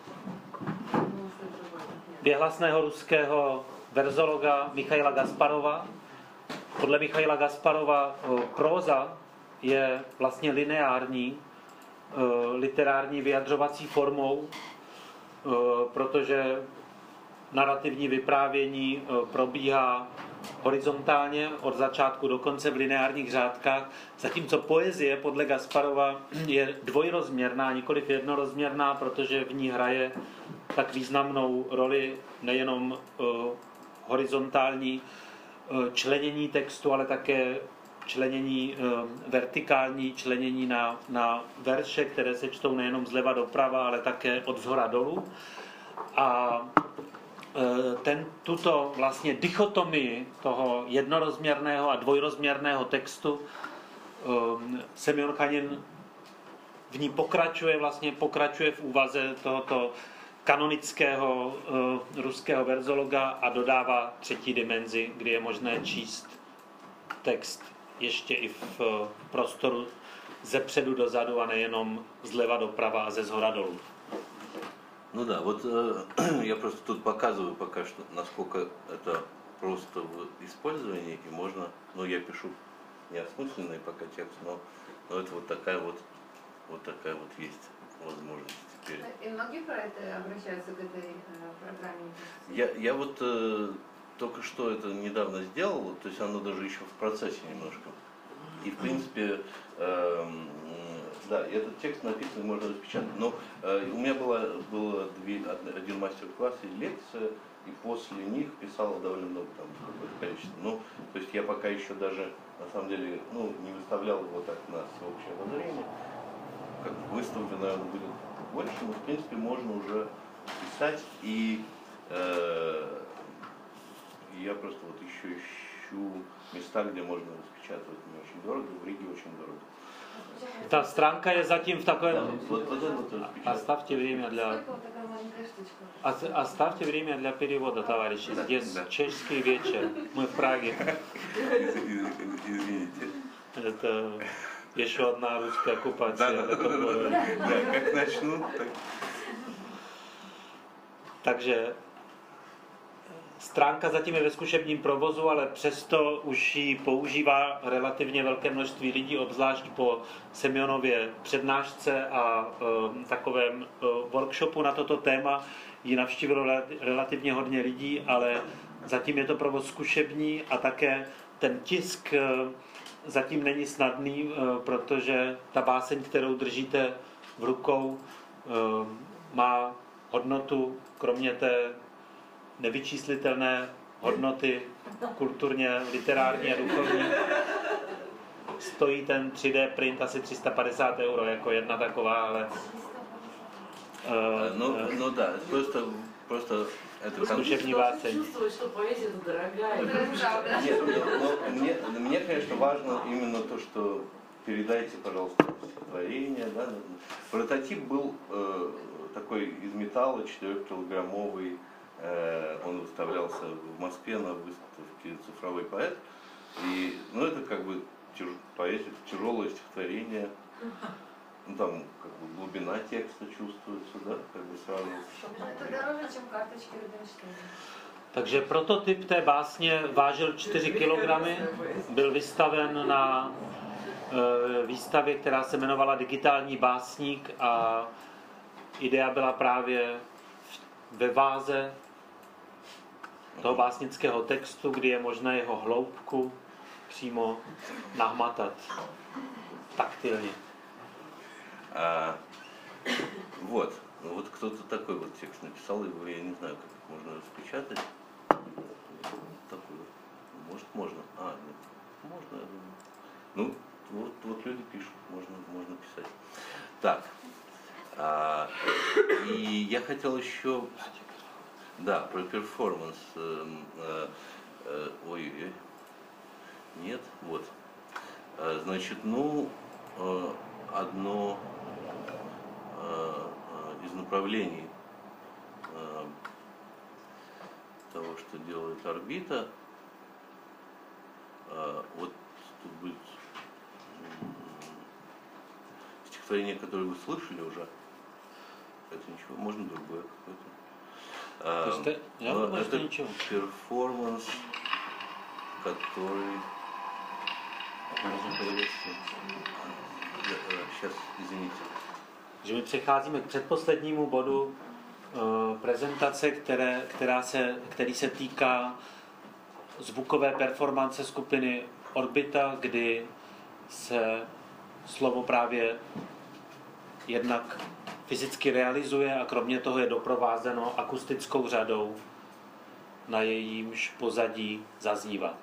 věhlasného ruského verzologa Michaila Gasparova. Podle Michaila Gasparova próza je vlastně lineární, literární vyjadřovací formou, protože narrativní vyprávění probíhá horizontálně od začátku do konce v lineárních řádkách, zatímco poezie podle Gasparova je dvojrozměrná, nikoliv jednorozměrná, protože v ní hraje tak významnou roli nejenom horizontální členění textu, ale také členění vertikální, členění na verše, které se čtou nejenom zleva doprava, ale také od zhora dolů. A tuto vlastně dichotomii toho jednorozměrného a dvojrozměrného textu Semjon Chanin v ní pokračuje v úvaze tohoto kanonického ruského verzologa a dodává třetí dimenzi, kdy je možné číst text ještě i v prostoru ze předu dozadu a nejenom zleva doprava a ze zhora dolů. Ну да, вот я просто тут показываю пока что, насколько это просто в использовании, и можно, я пишу неосмысленный пока текст, но это вот такая вот есть возможность теперь. И многие про это обращаются к этой программе? Я вот только что это недавно сделал, то есть оно даже еще в процессе немножко. И в принципе, да, этот текст написан, можно распечатать. Но у меня было один мастер-класс и лекция, и после них писало довольно много, там, какое-то количество. То есть я пока еще даже, на самом деле, не выставлял его так на всеобщее обозрение. Как выставлю, наверное, будет больше, но, в принципе, можно уже писать. И я просто вот еще ищу места, где можно распечатывать. Не очень дорого, в Риге очень дорого. Ta stránka je zatím v takovém... Оставьте время для перевода, товарищи. Здесь чешский вечер. Мы в Праге. Извините. Это еще одна русская оккупация. Да, как начну, так... Takže stránka zatím je ve zkušebním provozu, ale přesto už ji používá relativně velké množství lidí, obzvlášť po Semjonově přednášce a takovém workshopu na toto téma. Ji navštívilo relativně hodně lidí, ale zatím je to provoz zkušební a také ten tisk zatím není snadný, protože ta báseň, kterou držíte v rukou, má hodnotu, kromě té nevyčíslitelné hodnoty kulturně, literární a duchovní. Stojí ten 3D print asi 350 € jako jedna taková, ale... да, просто это зкушевní váceň. Чувствуешь, что поэзия дорогая. Нет, мне, конечно, важно именно то, что передайте, пожалуйста, стихотворение. Да? Прототип был такой из металла, 4-килограммовый. Он выставлялся в Москве на выставке «Цифровой поэт». И, это как бы поэзия, тяжелое стихотворение. Ну, там как бы глубина текста чувствуется, да, как бы сразу. Это дороже, чем карточки Рубинштейна. Takže prototyp té básně vážil 4 kg, byl vystaven na výstavě, která se jmenovala Digitální básník a idea byla právě ve váze toho básnického textu, kdy je možné jeho hloubku přímo nahmatat taktilně. Вот кто-то такой вот текст написал, его я не знаю, как можно распечатать. Такой вот. Может, можно. Нет. Можно, я думаю. Ну, вот люди пишут, можно писать. Так. И я хотел еще, да, про перформанс. Ой, нет, вот. Значит, одно из направлений того, что делает орбита, вот тут будет стихотворение, которое вы слышали уже. Это ничего, можно другое какое-то. Я думаю, что ничего. Перформанс, который... Сейчас, извините. Že my přecházíme k předposlednímu bodu prezentace, který se týká zvukové performance skupiny Orbita, kdy se slovo právě jednak fyzicky realizuje a kromě toho je doprovázeno akustickou řadou, na jejímž pozadí zaznívá.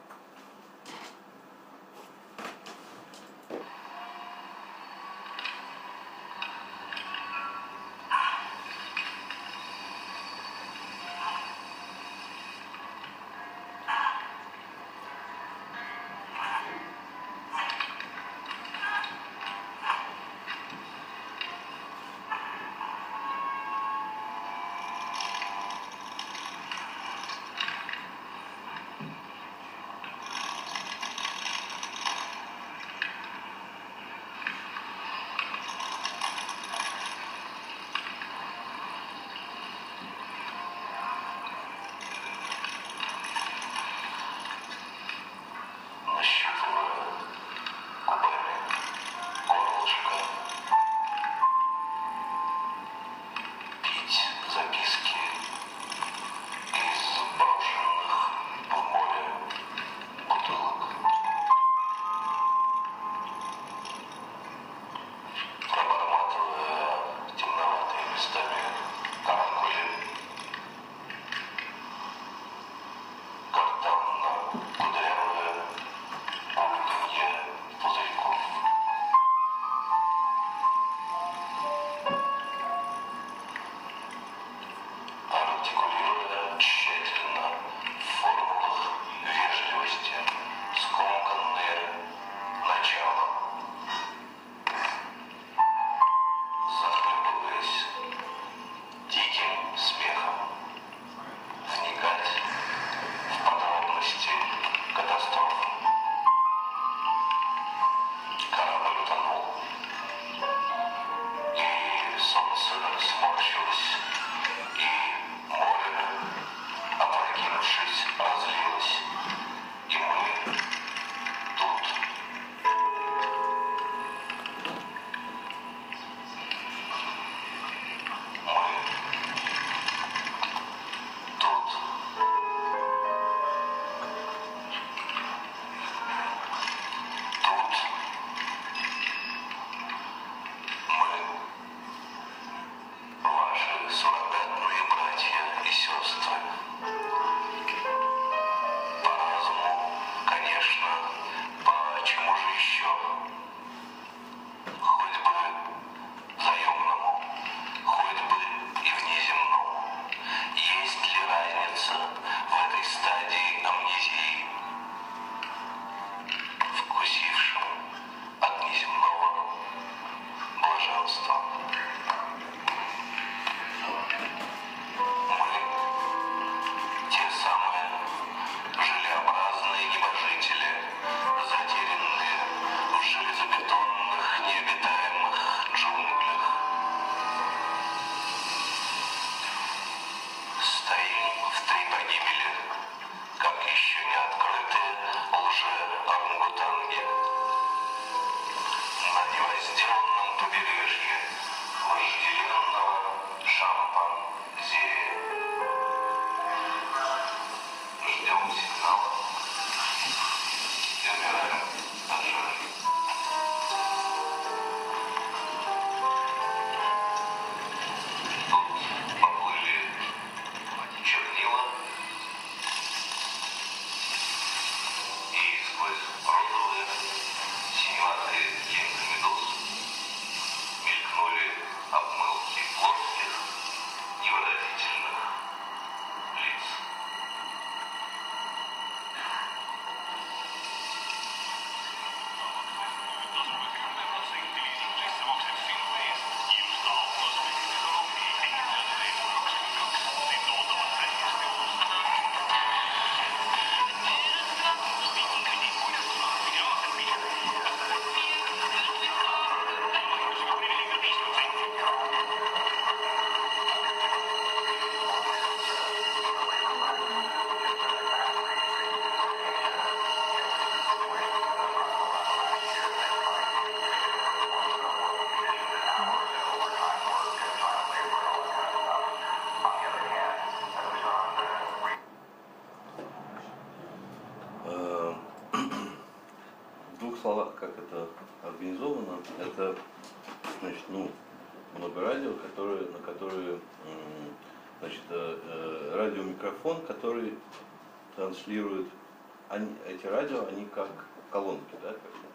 В двух словах, как это организовано, это, значит, много радио, на которые, значит, радиомикрофон, который транслирует, эти радио, они как колонки, да,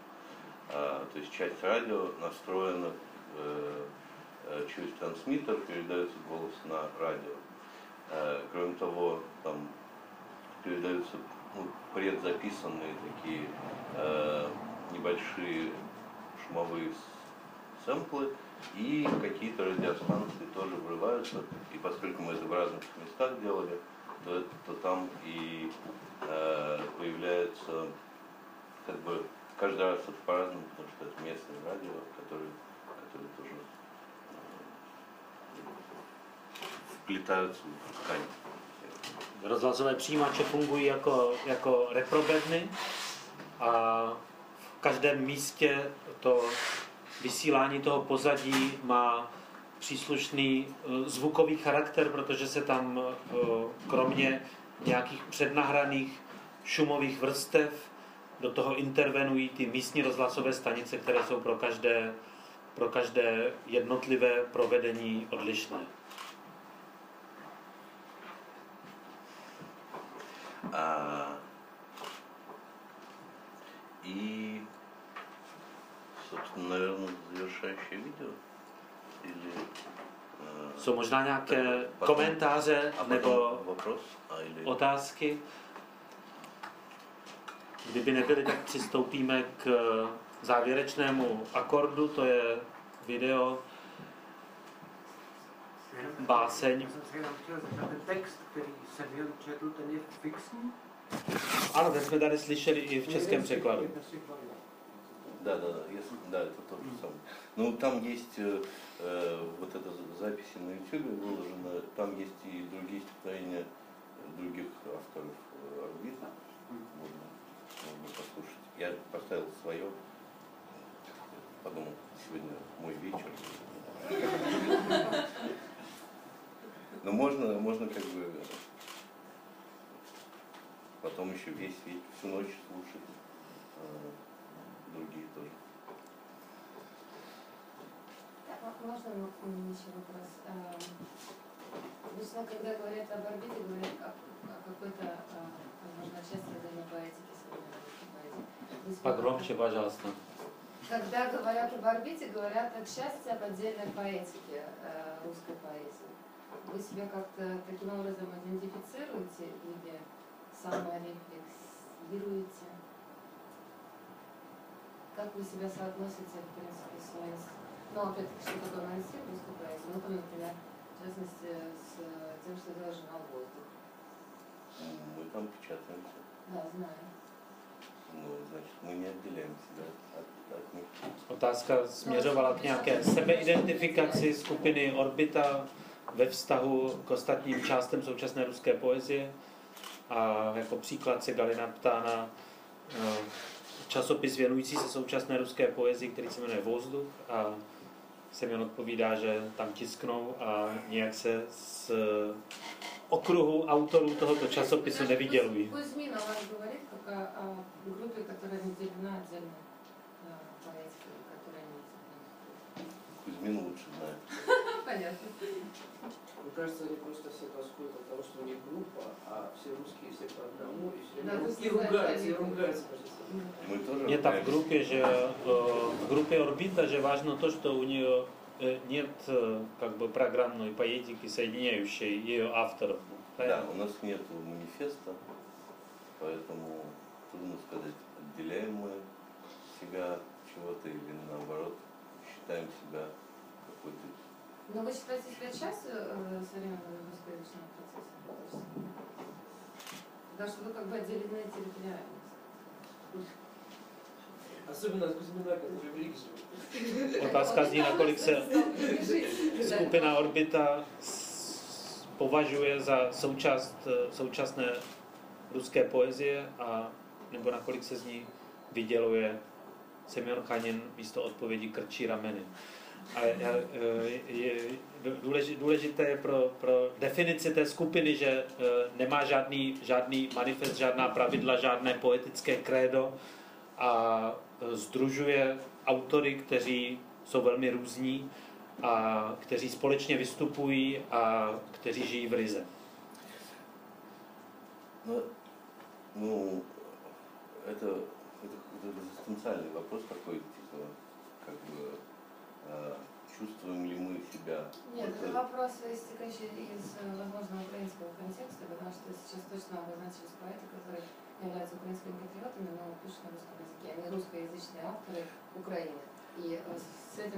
то есть часть радио настроена через трансмиттер, передается голос на радио. Кроме того, там передаются предзаписанные такие небольшие шумовые сэмплы, и какие-то радиостанции тоже врываются. И поскольку мы это в разных местах делали, то там и появляется, как бы, каждый раз это по-разному, потому что это местное радио, которое тоже vplítají v tkaní. Rozhlasové přijímače fungují jako reprobedny a v každém místě to vysílání toho pozadí má příslušný zvukový charakter, protože se tam kromě nějakých přednahraných šumových vrstev do toho intervenují ty místní rozhlasové stanice, které jsou pro každé jednotlivé provedení odlišné. И, собственно, наверное, завершающее видео. Или, jsou možná nějaké komentáře nebo otázky? Kdyby nebyly, tak přistoupíme k závěrečnému akordu, to je video báseň. Já jsem si jenom chtěl zeptat, ten text, který jsem četl, ten je fixní? Ano, ten jsme tady slyšeli i v českém překladu. Да, это то же самое. Ну, там есть вот эта запись на YouTube выложена, там есть и другие стихотворения других авторов орбиты. Можно послушать. Я поставил свое, подумал, сегодня мой вечер. Но можно как бы потом еще весь вечер, всю ночь слушать другие тоже. Можно еще вопрос? Обычно, когда говорят об орбите, говорят о какой-то, возможно, части отдельной поэтики, современной поэзии. Погромче, пожалуйста. Когда говорят об орбите, говорят отчасти об отдельной поэтике русской поэзии. Вы себя как-то таким образом идентифицируете или саморефлексируете? Как вы себя соотносите, в принципе, с опять-таки, что такое мансив русской поэзии? Ну, там, например, в частности, с тем, что делает журнал «Воздух». Мы там печатаемся. Да, знаю. Ну, значит, мы не отделяем себя от них. Otázka směřovala k nějaké sebeidentifikaci skupiny Orbita ve vztahu k ostatním částem současné ruské poezie. A jako příklad se Galina ptá na časopis věnující se současné ruské poezii, který se jmenuje Vozduk, a Semyon odpovídá, že tam tisknou a nějak se z okruhu autorů tohoto časopisu nevydělují. Кузьмин о вас говорит как о группе, которая разделена отдельно по этике, которая не Кузьмин лучше знает. Понятно. Мне кажется, они просто все тоскуют от того, что у них группа, а все русские все по одному, и все Да, время русские ругаются, и знают, ругаются между собой. Мы тоже Нет, в группе ругаемся. Орбита же важно то, что у нее нет как бы программной поэтики, соединяющей ее авторов. Да, у нас нет манифеста, поэтому трудно сказать, отделяем мы себя от чего-то или наоборот считаем себя какой-то. Но вы считаете себя частью современного русскоязычного процесса? Да, что вы как бы отделены территориально. Особенно от Кузьмина, который в Риге живет. Otázka zní, nakolik se skupina Orbita považuje za součást současné ruské poezie a nebo nakolik se z ní vyděluje Semjon Chanin místo odpovědi krčí rameny. A důležité je pro definici té skupiny, že nemá žádný manifest, žádná pravidla, žádné poetické krédo a sdružuje autory, kteří jsou velmi různí a kteří společně vystupují a kteří žijí v Rize. Ну, это какой-то экзистенциальный вопрос такой, типа, как бы, чувствуем ли мы себя? Нет, вот, это вопрос, истекающий из, возможно, украинского контекста, потому что сейчас точно обозначились поэты, которые являются украинскими патриотами, но пишут на русском языке. Они русскоязычные авторы Украины. И с этим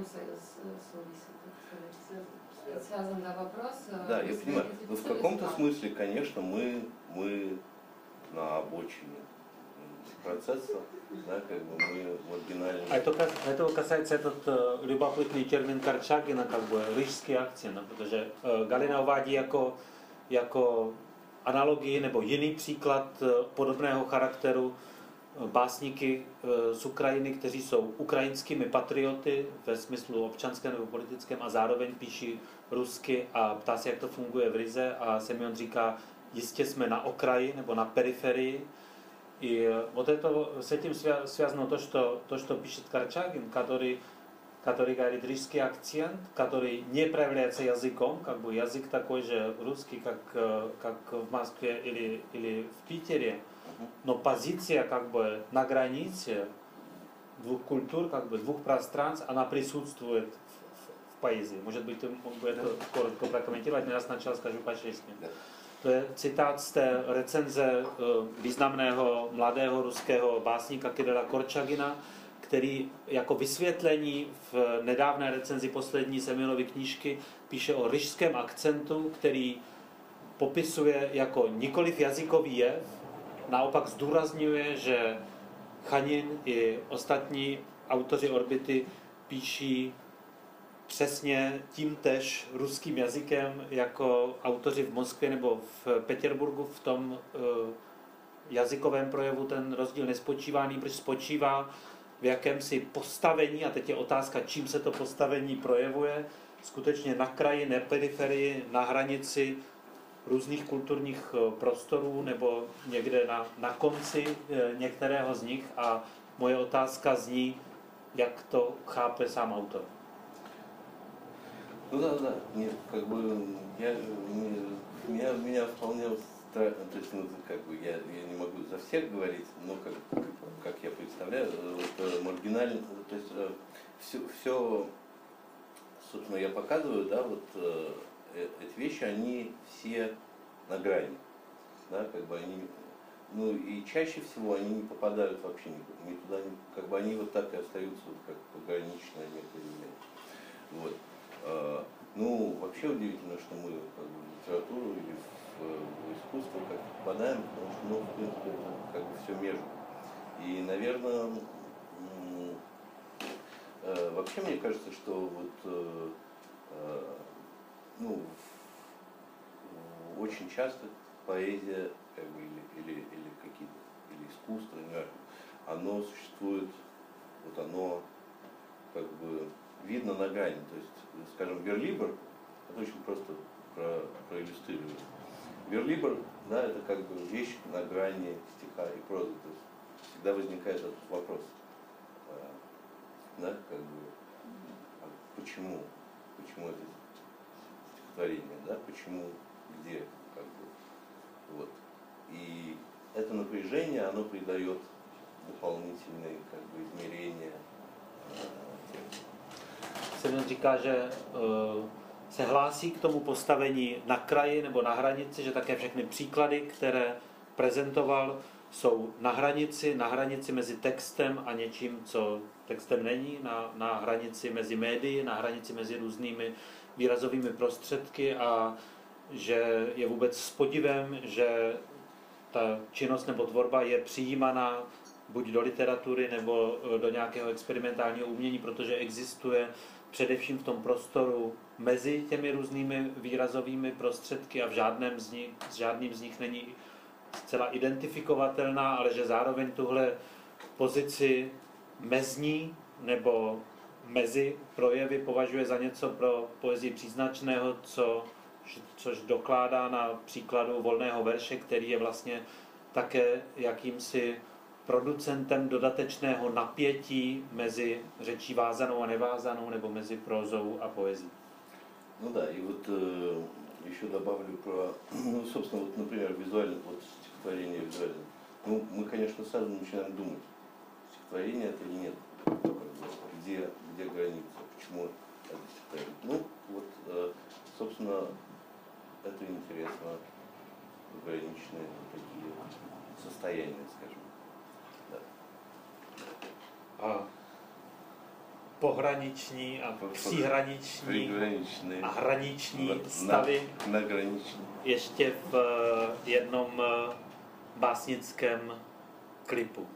связан вопрос. Да, я понимаю. Но в каком-то смысле, конечно, мы на обочине процесса, да, как бы мы маргинальные. А этого касается этот любопытный термин Корчагина, как бы рижský akcent, protože Galina uvádí jako analogii nebo jiný příklad podobného charakteru básníky z Ukrajiny, kteří jsou ukrajinskými patrioty ve smyslu občanském nebo politickém a zároveň píší rusky a ptá se, jak to funguje v Rize a Semyon říká, jistě jsme na okraji nebo na periferii. И вот это, с этим связано то, что пишет Корчагин, который говорит рижский акцент, который не проявляется языком, как бы язык такой же русский, как в Москве или в Питере, но позиция как бы на границе двух культур, как бы двух пространств, она присутствует в поэзии. Может быть, ты мог бы это коротко прокомментировать, я сначала скажу по-чешски. To je citát z té recenze významného mladého ruského básníka Kirila Korčagina, který jako vysvětlení v nedávné recenzi poslední Semjonovy knížky píše o ryžském akcentu, který popisuje jako nikoliv jazykový jev, naopak zdůrazňuje, že Chanin i ostatní autoři Orbity píší přesně tímtež ruským jazykem jako autoři v Moskvě nebo v Petěrburgu. V tom jazykovém projevu ten rozdíl nespočívá, nýbrž spočívá v jakémsi postavení, a teď je otázka, čím se to postavení projevuje, skutečně na kraji, na periferii, na hranici různých kulturních prostorů nebo někde na konci některého z nich. A moje otázka zní, jak to chápe sám autor. Ну да, нет, как бы меня вполне устраивает, то есть, ну, как бы я не могу за всех говорить, но как я представляю, вот, маргинально, то есть все, собственно, я показываю, да, вот эти вещи, они все на грани, да, как бы они, ну и чаще всего они не попадают вообще ни туда, как бы они вот так и остаются, как пограничное некое явление. Вот. Ну, вообще удивительно, что мы как бы, в литературу или в искусство как попадаем, потому что, ну, в принципе, это как бы все между. И, наверное, вообще мне кажется, что вот, ну, очень часто поэзия, как бы, или какие-то, или искусство, оно существует, вот оно как бы видно на грани. То есть, скажем, верлибр, это очень просто проиллюстрирую. Верлибр, да, это как бы вещь на грани стиха и прозы. То есть всегда возникает этот вопрос. Да, как бы, почему это стихотворение, да, почему, где, как бы, вот. И это напряжение, оно придает дополнительные, как бы, измерения тексту. Semyon říká, že se hlásí k tomu postavení na kraji nebo na hranici, že také všechny příklady, které prezentoval, jsou na hranici mezi textem a něčím, co textem není, na hranici mezi médii, na hranici mezi různými výrazovými prostředky a že je vůbec s podivem, že ta činnost nebo tvorba je přijímaná buď do literatury nebo do nějakého experimentálního umění, protože existuje především v tom prostoru mezi těmi různými výrazovými prostředky a žádným z nich není zcela identifikovatelná, ale že zároveň tuhle pozici mezní nebo mezi projevy považuje za něco pro poezii příznačného, což dokládá na příkladu volného verše, který je vlastně také jakýmsi producentem dodatečného napětí mezi řečí vázanou a nevázanou nebo mezi prózou a poezí. Ну да, и вот еще добавлю про, ну, собственно, вот, например, визуально, вот стихотворение визуально. Ну, мы, конечно, сразу начинаем думать, стихотворение это или нет, где граница, почему это стихотворение. Ну, вот, собственно, это интересно, пограничные такие состояния, скажем. Да. Pohraniční a příhraniční a hraniční stavy ještě v jednom básnickém klipu.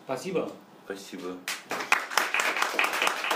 Спасибо. Спасибо.